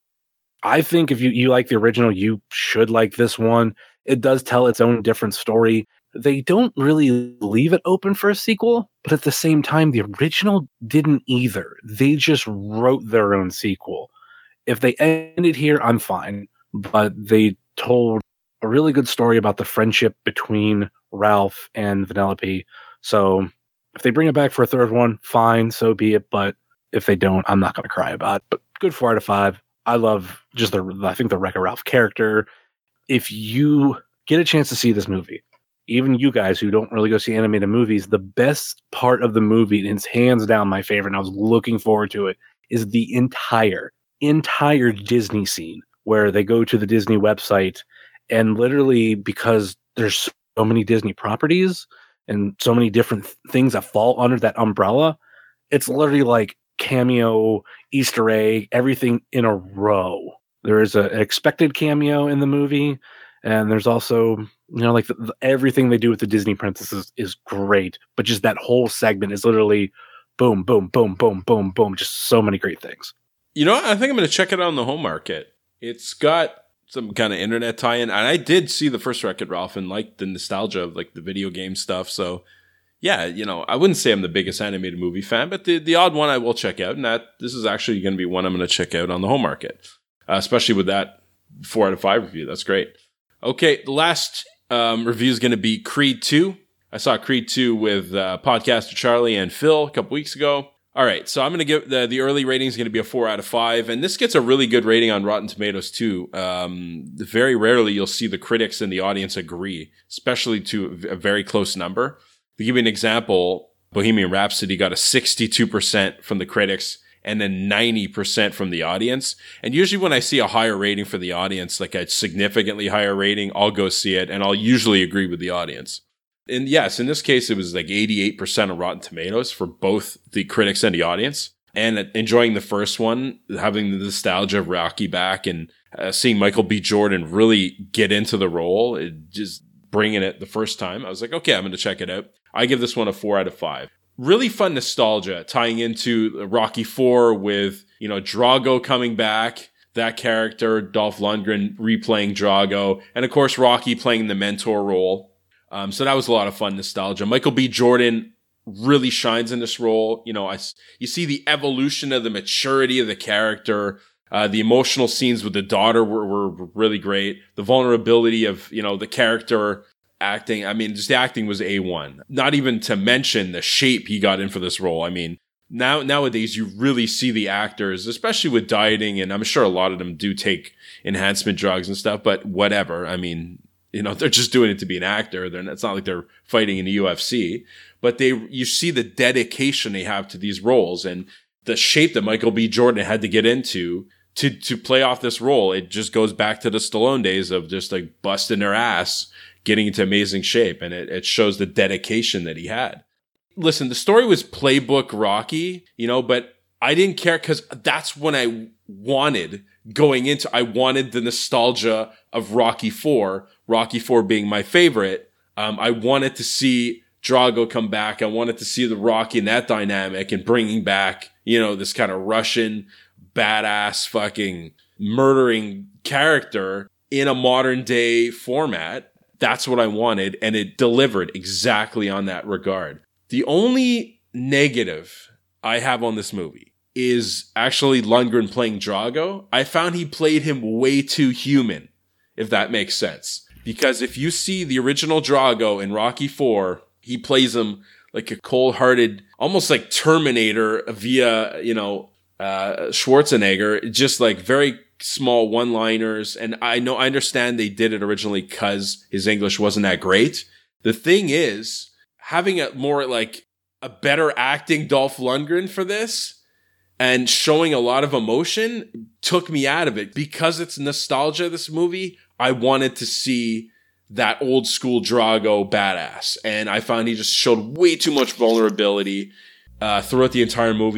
I think if you, you like the original, you should like this one. It does tell its own different story. They don't really leave it open for a sequel, but at the same time, the original didn't either. They just wrote their own sequel. If they ended here, I'm fine. But they told a really good story about the friendship between Ralph and Vanellope. So if they bring it back for a third one, fine, so be it. But if they don't, I'm not going to cry about it. But good four out of five. I love just the, I think the Wreck-It Ralph character. If you get a chance to see this movie, even you guys who don't really go see animated movies, the best part of the movie, and it's hands down my favorite, and I was looking forward to it, is the entire, entire Disney scene where they go to the Disney website and literally, because there's so many Disney properties and so many different th- things that fall under that umbrella, it's literally like cameo, Easter egg, everything in a row. There is a, an expected cameo in the movie, and there's also, you know, like the, the, everything they do with the Disney princesses is great, but just that whole segment is literally boom, boom, boom, boom, boom, boom, just so many great things. You know what? I think I'm going to check it out on the home market. It's got some kind of internet tie-in, and I did see the first Wreck-It Ralph and like the nostalgia of like the video game stuff, so yeah, you know, I wouldn't say I'm the biggest animated movie fan, but the, the odd one I will check out, and that this is actually going to be one I'm going to check out on the home market, uh, especially with that four out of five review. That's great. Okay, the last um, review is going to be Creed two. I saw Creed two with uh, podcaster Charlie and Phil a couple weeks ago. All right, so I'm going to give the, the early rating is going to be a four out of five, and this gets a really good rating on Rotten Tomatoes too. Um, very rarely you'll see the critics and the audience agree, especially to a very close number. To give you an example, Bohemian Rhapsody got a sixty-two percent from the critics and then ninety percent from the audience. And usually when I see a higher rating for the audience, like a significantly higher rating, I'll go see it and I'll usually agree with the audience. And yes, in this case, it was like eighty-eight percent of Rotten Tomatoes for both the critics and the audience. And enjoying the first one, having the nostalgia of Rocky back and uh, seeing Michael B. Jordan really get into the role, it just bringing it the first time. I was like, okay, I'm going to check it out. I give this one a four out of five. Really fun nostalgia tying into Rocky four with, you know, Drago coming back, that character, Dolph Lundgren replaying Drago, and of course, Rocky playing the mentor role. Um, so that was a lot of fun nostalgia. Michael B. Jordan really shines in this role. You know, I, you see the evolution of the maturity of the character. Uh, the emotional scenes with the daughter were, were really great. The vulnerability of, you know, the character acting. I mean, just the acting was A one. Not even to mention the shape he got in for this role. I mean, now nowadays you really see the actors, especially with dieting, and I'm sure a lot of them do take enhancement drugs and stuff, but whatever. I mean, you know, they're just doing it to be an actor. They're, it's not like they're fighting in the U F C, but they, you see the dedication they have to these roles and the shape that Michael B. Jordan had to get into to, to play off this role. It just goes back to the Stallone days of just like busting their ass, getting into amazing shape. And it, it shows the dedication that he had. Listen, the story was playbook Rocky, you know, but I didn't care because that's when I wanted going into, I wanted the nostalgia of Rocky four, Rocky four being my favorite. Um, I wanted to see Drago come back. I wanted to see the Rocky in that dynamic and bringing back, you know, this kind of Russian badass fucking murdering character in a modern day format. That's what I wanted. And it delivered exactly on that regard. The only negative I have on this movie is actually Lundgren playing Drago. I found he played him way too human, if that makes sense. Because if you see the original Drago in Rocky four, he plays him like a cold-hearted, almost like Terminator via, you know, uh, Schwarzenegger, just like very small one-liners. And I know, I understand they did it originally because his English wasn't that great. The thing is, having a more like a better acting Dolph Lundgren for this and showing a lot of emotion took me out of it. Because it's nostalgia, this movie, I wanted to see that old school Drago badass. And I found he just showed way too much vulnerability uh, throughout the entire movie.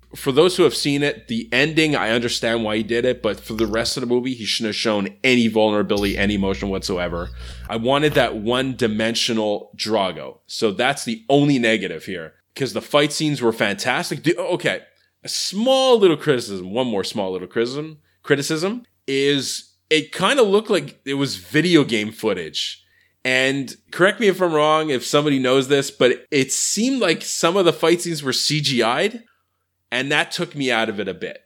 for those who have seen it, the ending, I understand why he did it, but for the rest of the movie, he shouldn't have shown any vulnerability, any emotion whatsoever. I wanted that one-dimensional Drago. So that's the only negative here, because the fight scenes were fantastic. The, okay, a small little criticism, one more small little criticism, criticism is it kind of looked like it was video game footage. And correct me if I'm wrong, if somebody knows this, but it seemed like some of the fight scenes were C G I'd. And that took me out of it a bit.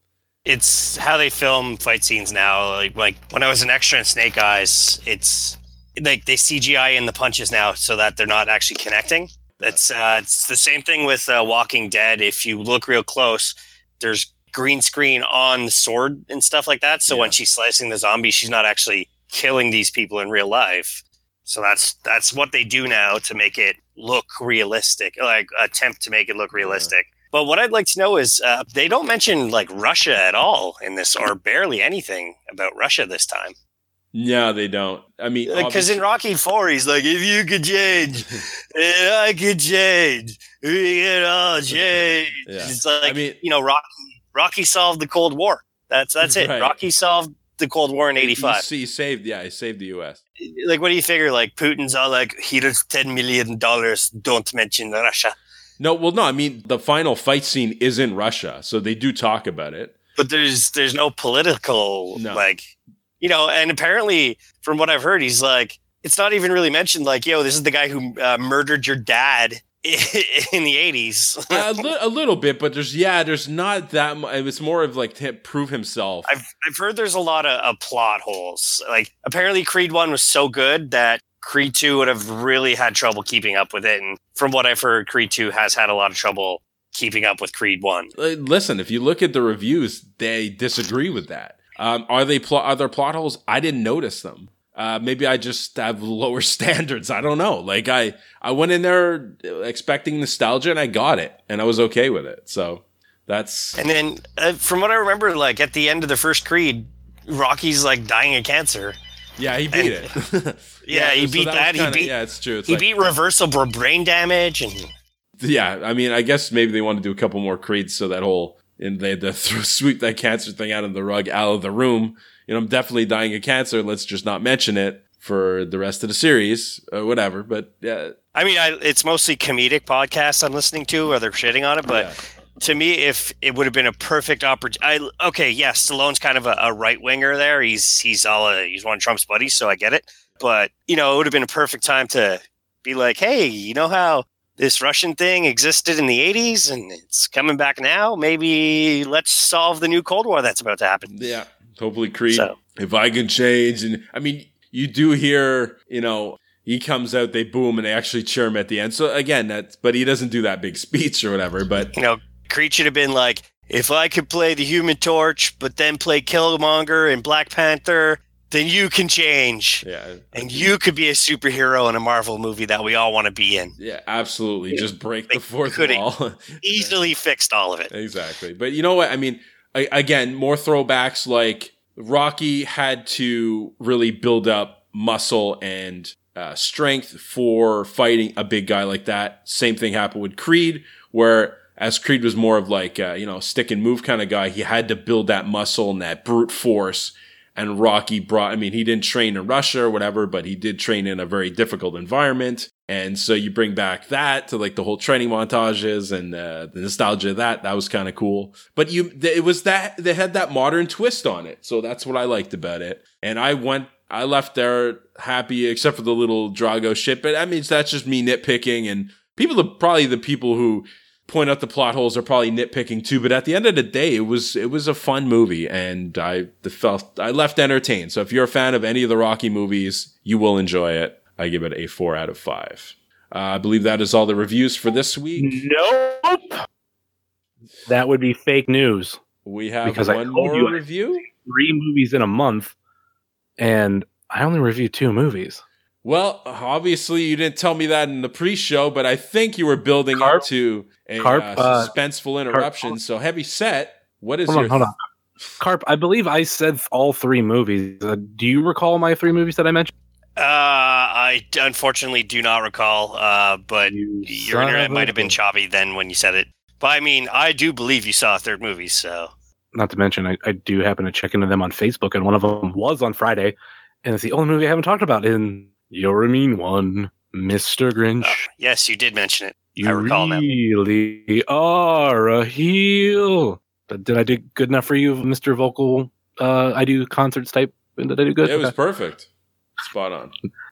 It's how they film fight scenes now. Like, like when I was an extra in Snake Eyes, it's like they C G I in the punches now so that they're not actually connecting. That's uh, it's the same thing with uh, Walking Dead. If you look real close, there's green screen on the sword and stuff like that. So yeah. when she's slicing the zombie, she's not actually killing these people in real life. So that's that's what they do now to make it look realistic, like attempt to make it look realistic. Yeah. But what I'd like to know is uh, they don't mention like Russia at all in this, or barely anything about Russia this time. Yeah, they don't. I mean, because in Rocky Four, he's like, "If you could change, and I could change, we can all change." Yeah. It's like, I mean, you know, Rocky, Rocky solved the Cold War. That's that's it. Right. Rocky solved the Cold War in eighty-five. He, he saved, yeah, he saved the U S. Like, what do you figure? Like, Putin's all like, "Here's ten million dollars. Don't mention Russia." No, well, no, I mean, the final fight scene is in Russia, so they do talk about it. But there's there's no political, no. like, you know, and apparently, from what I've heard, he's like, it's not even really mentioned, like, yo, this is the guy who uh, murdered your dad in the eighties. a, li- a little bit, but there's, yeah, there's not that much. It's more of like to prove himself. I've, I've heard there's a lot of, of plot holes. Like, apparently Creed one was so good that Creed two would have really had trouble keeping up with it. And from what I've heard, Creed two has had a lot of trouble keeping up with Creed one. Listen, if you look at the reviews, they disagree with that. Um, are they pl- are there plot holes? I didn't notice them. Uh, maybe I just have lower standards. I don't know. Like I, I went in there expecting nostalgia and I got it and I was okay with it. So that's. And then uh, from what I remember, like at the end of the first Creed, Rocky's like dying of cancer. Yeah, he beat and, it. yeah, yeah, he so beat that. that. Kinda, he beat. Yeah, it's true. It's he like, beat reversible brain damage, and yeah, I mean, I guess maybe they want to do a couple more Creeds, so that whole and they had to throw, sweep that cancer thing out of the rug, out of the room. You know, I'm definitely dying of cancer. Let's just not mention it for the rest of the series, or whatever. But yeah, I mean, I, it's mostly comedic podcasts I'm listening to, or they're shitting on it, but. Yeah. To me, if it would have been a perfect opportunity, okay, yes, Stallone's kind of a, a right winger there. He's he's all a, he's one of Trump's buddies, so I get it. But you know, it would have been a perfect time to be like, hey, you know how this Russian thing existed in the eighties and it's coming back now? Maybe let's solve the new Cold War that's about to happen. Yeah, hopefully, Creed. So. If I can change, and I mean, you do hear, you know. He comes out, they boom, and they actually cheer him at the end. So again, that's but he doesn't do that big speech or whatever. But you know. Creed should have been like, if I could play the Human Torch, but then play Killmonger and Black Panther, then you can change. Yeah. And you could be a superhero in a Marvel movie that we all want to be in. Yeah, absolutely. Yeah. Just break they the fourth wall. Easily fixed all of it. Exactly. But you know what? I mean, I, again, more throwbacks. Like Rocky had to really build up muscle and uh, strength for fighting a big guy like that. Same thing happened with Creed, where as Creed was more of like, a, you know, stick and move kind of guy, he had to build that muscle and that brute force. And Rocky brought, I mean, he didn't train in Russia or whatever, but he did train in a very difficult environment. And so you bring back that to like the whole training montages and uh, the nostalgia of that. That was kind of cool. But you, it was that, they had that modern twist on it. So that's what I liked about it. And I went, I left there happy, except for the little Drago shit. But I mean, that's just me nitpicking. And people, are probably the people who point out the plot holes are probably nitpicking too, but at the end of the day, it was it was a fun movie, and I felt I left entertained. So if you're a fan of any of the Rocky movies, you will enjoy it. I give it a four out of five. Uh, I believe that is all the reviews for this week. Nope, that would be fake news. We have because one more you review. Three movies in a month, and I only reviewed two movies. Well, obviously you didn't tell me that in the pre-show, but I think you were building Carp, up to a Carp, uh, suspenseful uh, interruption. Carp, so heavy set. What is hold your on, hold on. Carp, I believe I said all three movies. Uh, do you recall my three movies that I mentioned? Uh, I unfortunately do not recall, uh, but You your internet might have been choppy then when you said it. But I mean, I do believe you saw a third movie, so. Not to mention, I, I do happen to check into them on Facebook, and one of them was on Friday, and it's the only movie I haven't talked about in You're a Mean One, Mister Grinch. Oh, yes, you did mention it. You I recall now. really are a heel. But did I do good enough for you, Mister Vocal? Uh, I do concerts type. Did I do good? It was Okay. perfect. Spot on.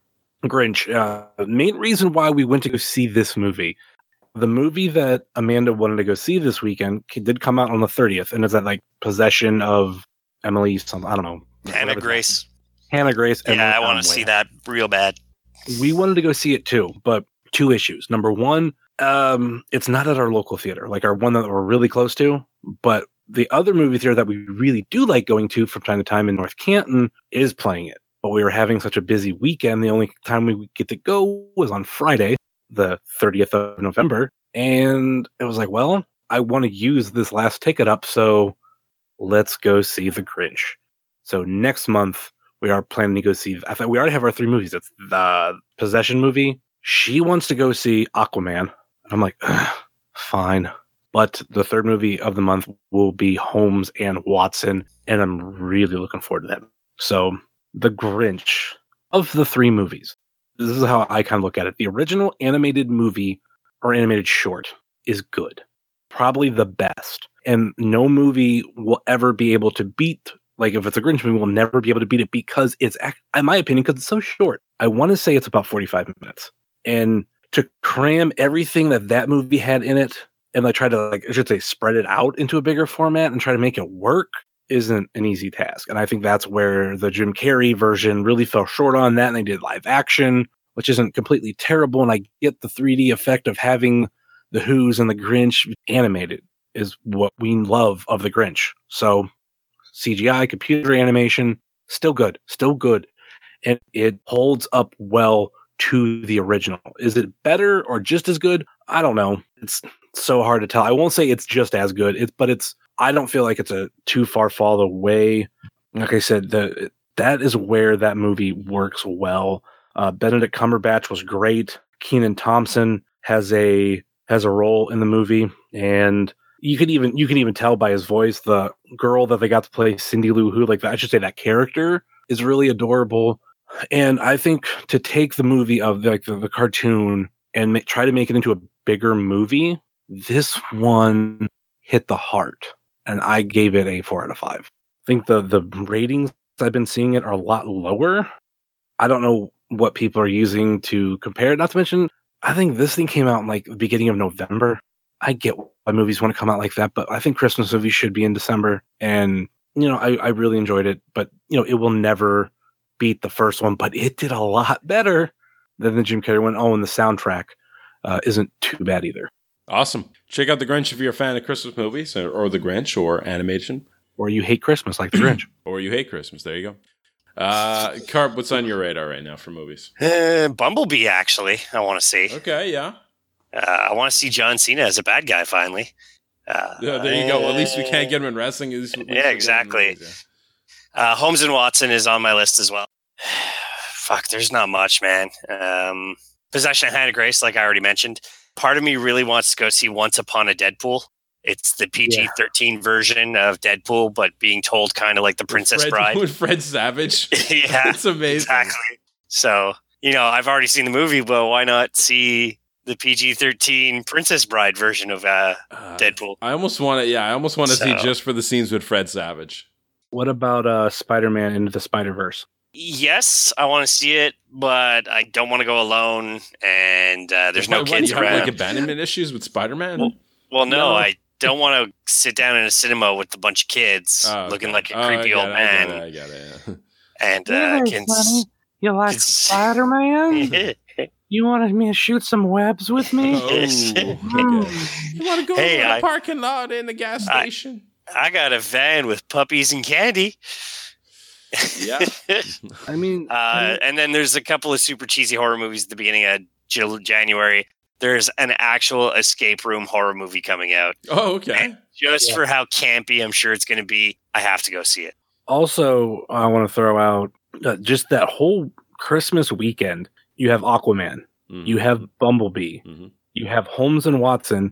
Grinch. Uh, the main reason why we went to go see this movie, the movie that Amanda wanted to go see this weekend did come out on the thirtieth, and is that like Possession of Emily something? I don't know. Hannah Grace. Hannah Grace. Yeah, Emily I want to Conway. see that real bad. We wanted to go see it too, but two issues. Number one, um, it's not at our local theater, like our one that we're really close to. But the other movie theater that we really do like going to from time to time in North Canton is playing it. But we were having such a busy weekend, the only time we would get to go was on Friday, the thirtieth of November. And it was like, well, I want to use this last ticket up, so let's go see The Grinch. So next month, we are planning to go see, I thought we already have our three movies. It's the Possession movie. She wants to go see Aquaman. I'm like, fine. But the third movie of the month will be Holmes and Watson, and I'm really looking forward to that. So The Grinch, of the three movies, this is how I kind of look at it. The original animated movie or animated short is good. Probably the best. And no movie will ever be able to beat, like if it's a Grinch movie, we'll never be able to beat it because it's, in my opinion, because it's so short. I want to say it's about forty-five minutes. And to cram everything that that movie had in it, and like try to, like, I should say, spread it out into a bigger format and try to make it work isn't an easy task. And I think that's where the Jim Carrey version really fell short on that. And they did live action, which isn't completely terrible. And I get the three D effect of having the Who's and the Grinch animated is what we love of the Grinch. So C G I, computer animation, still good, still good. And it holds up well to the original. Is it better or just as good? I don't know. It's so hard to tell. I won't say it's just as good, it's, but it's, I don't feel like it's a too far fall away. Like I said, the that is where that movie works well. Uh, Benedict Cumberbatch was great. Kenan Thompson has a has a role in the movie, and you could even you can even tell by his voice. The girl that they got to play, Cindy Lou Who, like I should say, that character is really adorable. And I think to take the movie of like the, the cartoon and ma- try to make it into a bigger movie, this one hit the heart, and I gave it a four out of five. I think the the ratings I've been seeing it are a lot lower. I don't know what people are using to compare it. Not to mention, I think this thing came out in like the beginning of November. I get why movies want to come out like that, but I think Christmas movies should be in December. And, you know, I, I really enjoyed it, but, you know, it will never beat the first one, but it did a lot better than the Jim Carrey one. Oh, and the soundtrack uh, isn't too bad either. Awesome. Check out The Grinch if you're a fan of Christmas movies, or, or The Grinch, or animation. Or you hate Christmas like The Grinch. Or you hate Christmas. There you go. Uh, Carp, what's on your radar right now for movies? Uh, Bumblebee, actually, I want to see. Okay, yeah. Uh, I want to see John Cena as a bad guy, finally. Uh, Yeah, there you go. At least we can't get him in wrestling. At least, at least Yeah, we're exactly. getting movies, yeah. Uh, Holmes and Watson is on my list as well. Fuck, there's not much, man. Um, Possession of Hannah Grace, like I already mentioned. Part of me really wants to go see Once Upon a Deadpool. It's the P G thirteen yeah. version of Deadpool, but being told kind of like the Princess Fred, Bride. With Fred Savage. Yeah, it's amazing. Exactly. So, you know, I've already seen the movie, but why not see the P G thirteen Princess Bride version of uh, uh, Deadpool? I almost want to, yeah, I almost want to so, see just for the scenes with Fred Savage. What about uh, Spider-Man Into the Spider-Verse? Yes, I want to see it, but I don't want to go alone, and uh, there's why, no kids why, you around. Have, like abandonment issues with Spider-Man? Well, well no, no, I don't want to sit down in a cinema with a bunch of kids oh, okay. looking like a oh, creepy old it, man. I get it, I get it, yeah. And uh, hey, can buddy, you like Spider-Man? You wanted me to shoot some webs with me? Oh, okay. You want to go hey, to the I, parking lot in the gas station? I, I got a van with puppies and candy. Yeah. I mean, uh, I mean, and then there's a couple of super cheesy horror movies at the beginning of January. There's an actual escape room horror movie coming out. Oh, okay. And just yeah. for how campy I'm sure it's going to be, I have to go see it. Also, I want to throw out uh, just that whole Christmas weekend. You have Aquaman, mm-hmm. you have Bumblebee, mm-hmm. you have Holmes and Watson,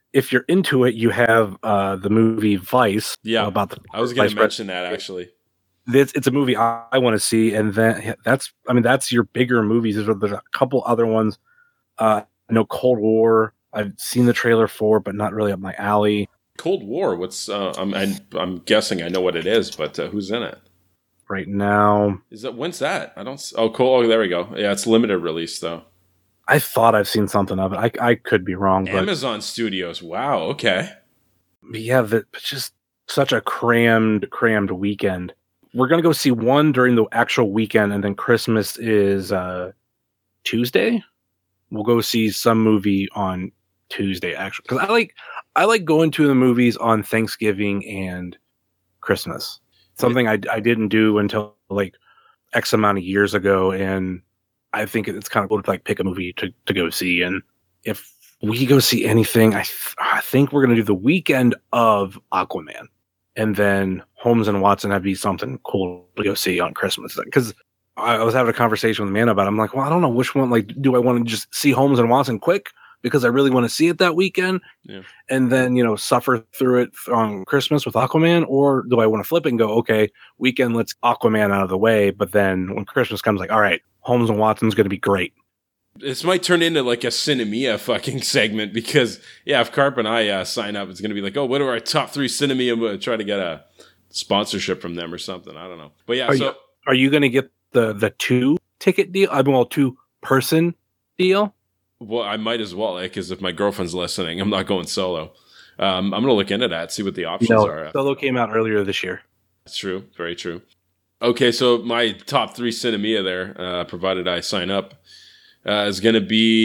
if you're into it, you have uh, the movie Vice. Yeah, about the I was going Vice to mention that actually. It's, it's a movie I, I want to see, and then that's I mean that's your bigger movies. There's, there's a couple other ones. Uh, I know Cold War. I've seen the trailer for, but not really up my alley. Cold War. What's? Uh, I'm, I'm I'm guessing I know what it is, but uh, who's in it right now? Is that when's that? I don't. Oh, cool. Oh, there we go. Yeah, it's limited release though. I thought I've seen something of it. I I could be wrong. But Amazon Studios. Wow. Okay. Yeah, that it's just such a crammed crammed weekend. We're gonna go see one during the actual weekend, and then Christmas is uh, Tuesday. We'll go see some movie on Tuesday, actually, because I like I like going to the movies on Thanksgiving and Christmas. Something I I didn't do until like X amount of years ago, and I think it's kind of cool to like pick a movie to, to go see. And if we go see anything, I th- I think we're gonna do the weekend of Aquaman, and then Holmes and Watson have to be something cool to go see on Christmas, because I was having a conversation with Amanda about it. I'm like, well, I don't know which one. Like, do I want to just see Holmes and Watson quick because I really want to see it that weekend, yeah. and then you know suffer through it on Christmas with Aquaman, or do I want to flip it and go, okay, weekend, let's Aquaman out of the way, but then when Christmas comes, like, all right, Holmes and Watson's going to be great. This might turn into like a Cinemia fucking segment because, yeah, if Carp and I uh, sign up, it's going to be like, oh, what are our top three Cinemia? We'll try to get a sponsorship from them or something. I don't know. But yeah, are so. You, are you going to get the, the two ticket deal? I mean, well, two person deal? Well, I might as well, because if my girlfriend's listening, I'm not going solo. Um, I'm going to look into that, see what the options no, are. Solo came out earlier this year. That's true. Very true. Okay, so my top three Cinemia there, uh, provided I sign up, uh, is going to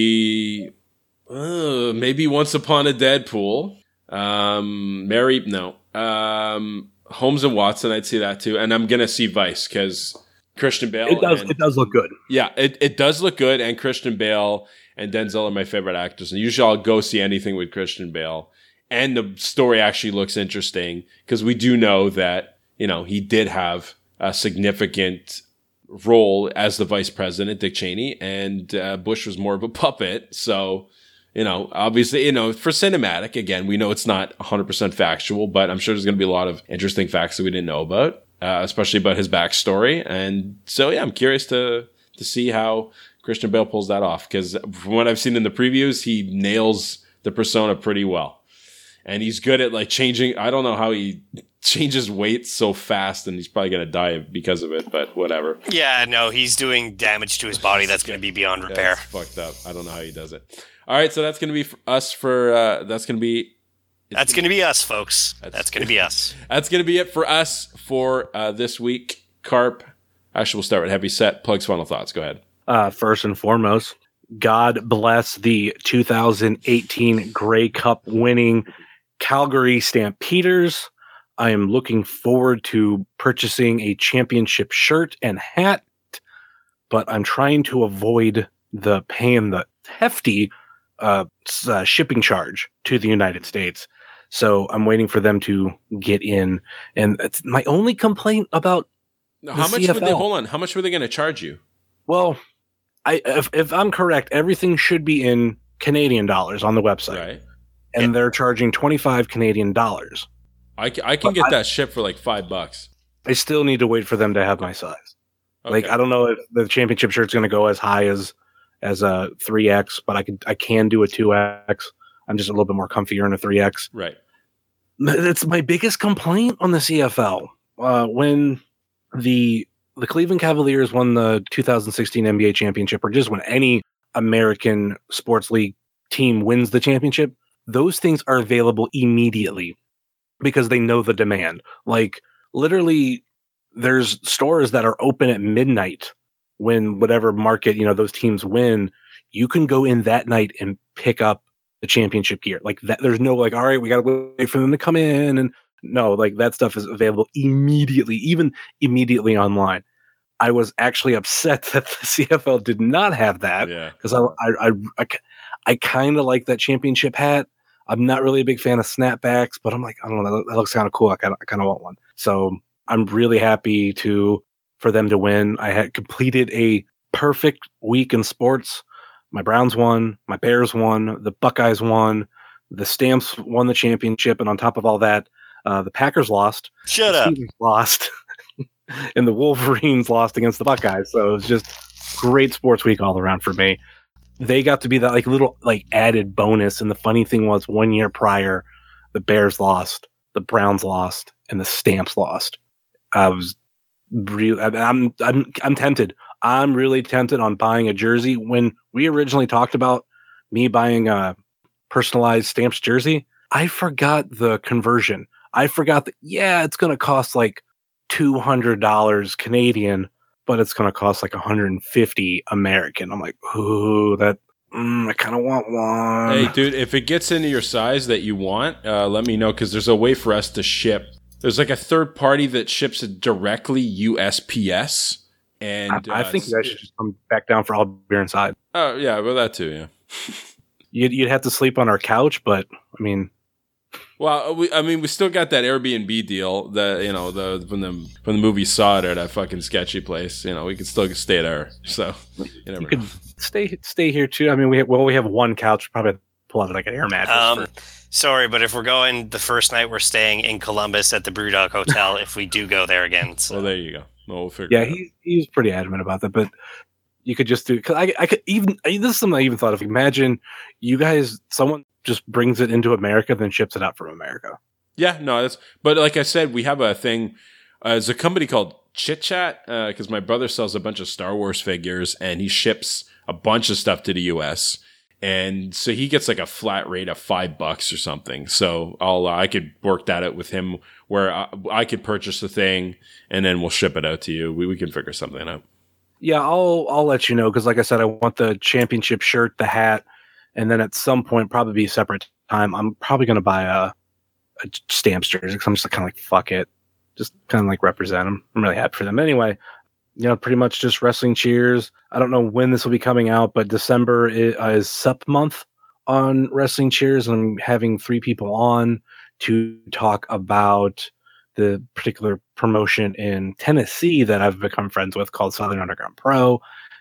be uh, maybe Once Upon a Deadpool. Um, Mary, no. Um, Holmes and Watson, I'd see that too. And I'm going to see Vice because Christian Bale. It does, and, it does look good. Yeah, it, it does look good. And Christian Bale and Denzel are my favorite actors. And usually I'll go see anything with Christian Bale. And the story actually looks interesting because we do know that, you know, he did have a significant role as the vice president, Dick Cheney, and uh, Bush was more of a puppet. So, you know, obviously, you know, for cinematic, again, we know it's not one hundred percent factual, but I'm sure there's going to be a lot of interesting facts that we didn't know about, uh, especially about his backstory. And so, yeah, I'm curious to to see how Christian Bale pulls that off, because from what I've seen in the previews, he nails the persona pretty well. And he's good at like changing. I don't know how he changes weight so fast, and he's probably going to die because of it, but whatever. Yeah, no, he's doing damage to his body that's going to be beyond repair. That's fucked up. I don't know how he does it. All right, so that's going to be for us for, uh, that's going to be. That's going to be us, folks. That's, that's going to be us. That's going to be it for us for uh, this week. Carp. Actually, we'll start with Heavy Set. Plugs, final thoughts. Go ahead. Uh, first and foremost, God bless the two thousand eighteen Grey Cup winning Calgary Stampeders. I am looking forward to purchasing a championship shirt and hat, but I'm trying to avoid the paying the hefty uh, uh, shipping charge to the United States. So I'm waiting for them to get in. And it's my only complaint about how much C F L. would they hold on? How much were they going to charge you? Well, I if, if I'm correct, everything should be in Canadian dollars on the website. Right. And they're charging twenty-five Canadian dollars. I can, I can but get I, that shipped for like five bucks. I still need to wait for them to have my size. Okay. Like, I don't know if the championship shirt's going to go as high as as a three X, but I could I can do a two X. I'm just a little bit more comfier in a three X. Right. That's my biggest complaint on the C F L. Uh, when the the Cleveland Cavaliers won the two thousand sixteen N B A championship, or just when any American sports league team wins the championship, those things are available immediately because they know the demand. Like, literally, there's stores that are open at midnight when whatever market, you know, those teams win. You can go in that night and pick up the championship gear. Like that, there's no like, all right, we got to wait for them to come in. And no, like that stuff is available immediately, even immediately online. I was actually upset that the C F L did not have that because yeah. I, I, I, I, I kind of like that championship hat. I'm not really a big fan of snapbacks, but I'm like, I don't know, that, that looks kind of cool. I kind of, I kind of want one. So I'm really happy to for them to win. I had completed a perfect week in sports. My Browns won, my Bears won, the Buckeyes won, The Stamps won the championship, and on top of all that, uh, the Packers lost. Shut the up. Steelers lost. And the Wolverines lost against the Buckeyes. So it was just great sports week all around for me. They got to be that like little like added bonus. And the funny thing was, one year prior, the Bears lost, the Browns lost, and the Stamps lost. I was really, I'm, I'm, I'm tempted. I'm really tempted on buying a jersey. When we originally talked about me buying a personalized Stamps jersey, I forgot the conversion. I forgot that, yeah, it's going to cost like two hundred dollars Canadian, but it's going to cost like one hundred fifty American. I'm like, ooh, that, mm, I kind of want one. Hey, dude, if it gets into your size that you want, uh, let me know, because there's a way for us to ship. There's like a third party that ships it directly U S P S. And I, I uh, think you guys should just come back down for All Beer Inside. Oh, yeah, well, that too, yeah. You'd, you'd have to sleep on our couch, but I mean, well, we, I mean, we still got that Airbnb deal that, you know, the when the when the movie saw it at that fucking sketchy place, you know, we could still stay there. So you never you could know. stay stay here too. I mean, we have, well, we have one couch. Probably have to pull out like an air mattress. Um, for- sorry, but if we're going the first night, we're staying in Columbus at the Brewdog Hotel. If we do go there again, so. Well, there you go. Well, we'll figure. yeah, it out. he he's pretty adamant about that, but. You could just do, because I, I could even, I, this is something I even thought of. Imagine you guys, someone just brings it into America, then ships it out from America. Yeah, no, that's, but like I said, we have a thing. Uh, there's a company called Chit Chat, because uh, my brother sells a bunch of Star Wars figures, and he ships a bunch of stuff to the U S, and so he gets like a flat rate of five bucks or something. So I'll, uh, I could work that out with him, where I, I could purchase the thing, and then we'll ship it out to you. We we can figure something out. Yeah, I'll I'll let you know, because like I said, I want the championship shirt, the hat, and then at some point, probably be a separate time, I'm probably going to buy a, a Stamps jersey, because I'm just kind of like, fuck it. Just kind of like represent them. I'm really happy for them. Anyway, you know, pretty much just Wrestling Cheers. I don't know when this will be coming out, but December is, uh, is Sup month on Wrestling Cheers, and I'm having three people on to talk about the particular promotion in Tennessee that I've become friends with, called Southern Underground Pro.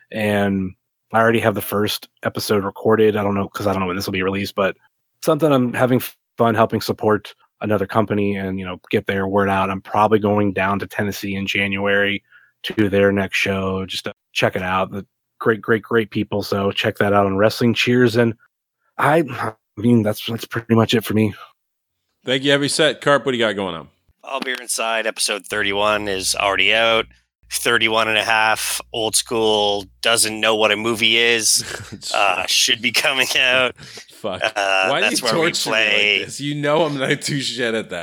And I already have the first episode recorded. I don't know, because I don't know when this will be released, but something I'm having fun helping support another company and, you know, get their word out. I'm probably going down to Tennessee in January to their next show, just to check it out. The great, great, great people. So check that out on Wrestling Cheers. And I, I mean, that's, that's pretty much it for me. Thank you, Heavy Set. Carp, what do you got going on? All Beer Inside episode thirty-one is already out. thirty-one and a half, old school, doesn't know what a movie is, uh, should be coming out. Fuck. Uh, Why do that's you where we torture play. me like this? You know I'm not too shit at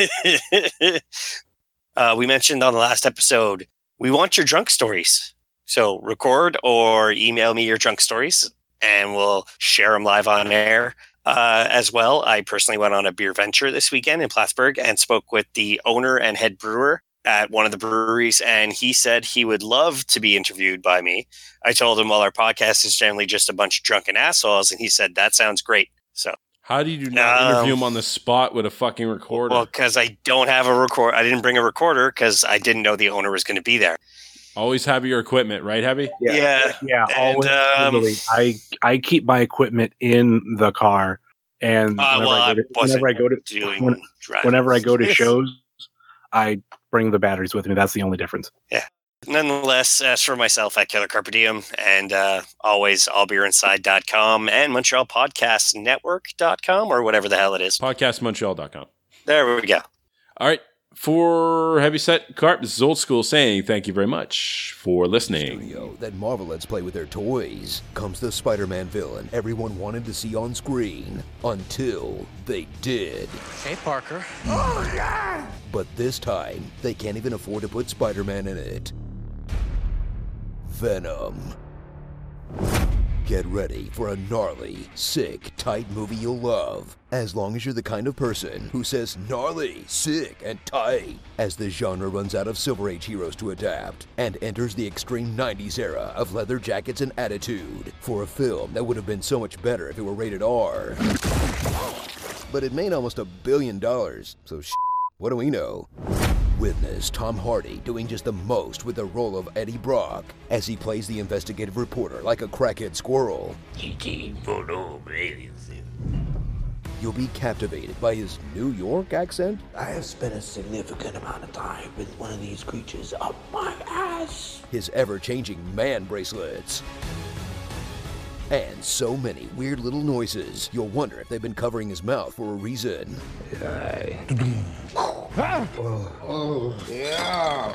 that. uh, we mentioned on the last episode, we want your drunk stories. So record or email me your drunk stories, and we'll share them live on air. Uh, as well, I personally went on a beer venture this weekend in Plattsburgh and spoke with the owner and head brewer at one of the breweries, and he said he would love to be interviewed by me. I told him, well, our podcast is generally just a bunch of drunken assholes, and he said, that sounds great. So how do you not um, interview him on the spot with a fucking recorder? Well, because I don't have a record. I didn't bring a recorder because I didn't know the owner was going to be there. Always have your equipment, right, Heavy? Yeah, Yeah. yeah. And, Always, um, literally, I I keep my equipment in the car, and Uh, whenever, well, I, go to, I wasn't whenever I go to doing when- driving. whenever I go to shows, I bring the batteries with me. That's the only difference. Nonetheless, as for myself at Killer Carpe Diem, and uh, always all beer inside dot com and Montreal Podcast Network dot com, or whatever the hell it is. podcast montreal dot com. There we go. All right. For Heavy Set, Carp, this is Old School saying thank you very much for listening. Studio that Marvel lets play with their toys comes the Spider-Man villain everyone wanted to see on screen until they did. Hey, Parker. But this time, they can't even afford to put Spider-Man in it. Venom. Get ready for a gnarly, sick, tight movie you'll love, as long as you're the kind of person who says gnarly, sick, and tight, as the genre runs out of Silver Age heroes to adapt, and enters the extreme nineties era of leather jackets and attitude, for a film that would have been so much better if it were rated R. But it made almost a billion dollars, so sh**, what do we know? Witness Tom Hardy doing just the most with the role of Eddie Brock as he plays the investigative reporter like a crackhead squirrel. you'll be captivated by his New York accent. I have spent a significant amount of time with one of these creatures up my ass. His ever-changing man bracelets. And so many weird little noises, you'll wonder if they've been covering his mouth for a reason. Yeah. Oh, yeah.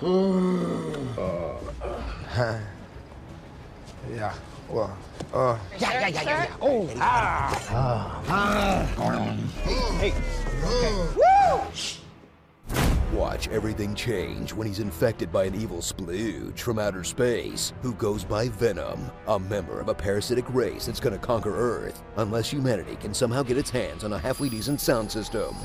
Uh, yeah. Well, uh. Yeah, yeah, yeah, yeah, yeah. Oh, ah. Ah. Ah. Hey. Okay. Woo! Watch everything change when he's infected by an evil splooge from outer space who goes by Venom, a member of a parasitic race that's gonna conquer Earth unless humanity can somehow get its hands on a halfway decent sound system.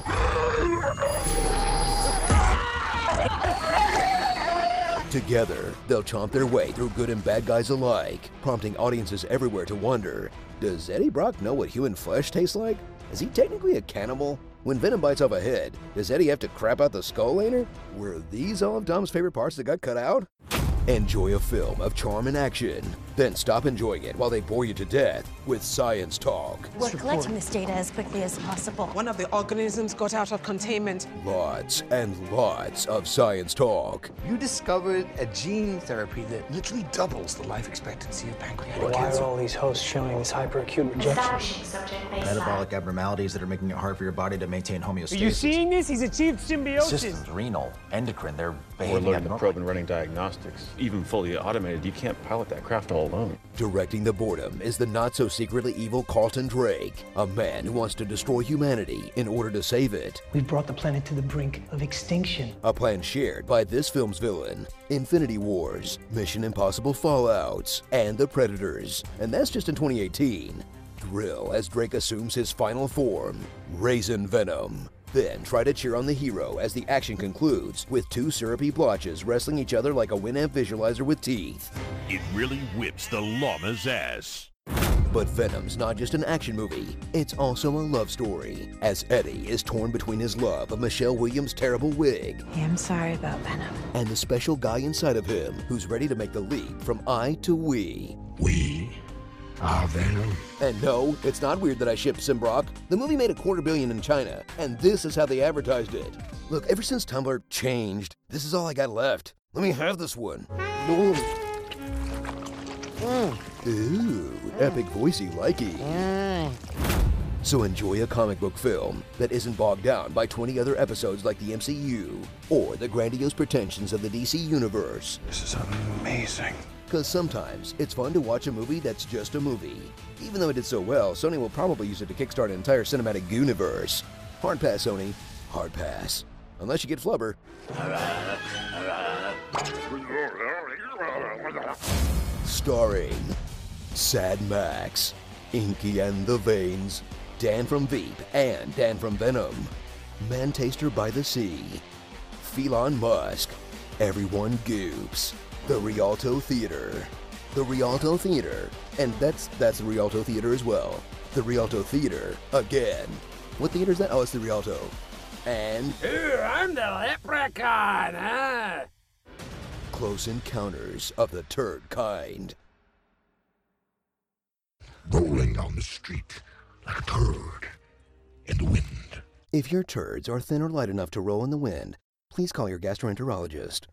Together, they'll chomp their way through good and bad guys alike, prompting audiences everywhere to wonder, does Eddie Brock know what human flesh tastes like? Is he technically a cannibal? When Venom bites off a head, does Eddie have to crap out the skull later? Were these all of Dom's favorite parts that got cut out? Enjoy a film of charm and action, then stop enjoying it while they bore you to death with Science Talk. We're collecting this data as quickly as possible. One of the organisms got out of containment. Lots and lots of Science Talk. You discovered a gene therapy that literally doubles the life expectancy of pancreatic Why cancer. are all these hosts showing this hyperacute rejection? Metabolic abnormalities that are making it hard for your body to maintain homeostasis. Are you seeing this? He's achieved symbiosis. Systems, renal, endocrine, they're behaving We're learning to abnormally. probe and running diagnostics. Even fully automated, you can't pilot that craft all alone. Directing the boredom is the not-so-secretly evil Carlton Drake, a man who wants to destroy humanity in order to save it. We've brought the planet to the brink of extinction. A plan shared by this film's villain, Infinity Wars, Mission Impossible Fallouts, and The Predators. And that's just in twenty eighteen. Thrill as Drake assumes his final form, Raisin Venom. Then try to cheer on the hero as the action concludes with two syrupy blotches wrestling each other like a Winamp visualizer with teeth. It really whips the llama's ass. But Venom's not just an action movie, it's also a love story, as Eddie is torn between his love of Michelle Williams' terrible wig Hey, I'm sorry about Venom. and the special guy inside of him who's ready to make the leap from I to we. We are Venom. And no, it's not weird that I shipped Simbrock. The movie made a quarter billion in China, and this is how they advertised it. Look, ever since Tumblr changed, this is all I got left. Let me have this one. Ooh, epic voicey likey. So enjoy a comic book film that isn't bogged down by twenty other episodes like the M C U, or the grandiose pretensions of the D C Universe. This is amazing. Because sometimes it's fun to watch a movie that's just a movie. Even though it did so well, Sony will probably use it to kickstart an entire cinematic universe. Hard pass, Sony. Hard pass. Unless you get Flubber. Starring Sad Max, Inky and the Veins, Dan from Veep and Dan from Venom, Mantaster by the Sea, Felon Musk, Everyone Goops, the Rialto Theater, the Rialto Theater, and that's that's the Rialto Theater as well. The Rialto Theater again. What theater is that? Oh, it's the Rialto. And Here, I'm the leprechaun, huh? Close Encounters of the Turd Kind. Rolling down the street like a turd in the wind. If your turds are thin or light enough to roll in the wind, please call your gastroenterologist.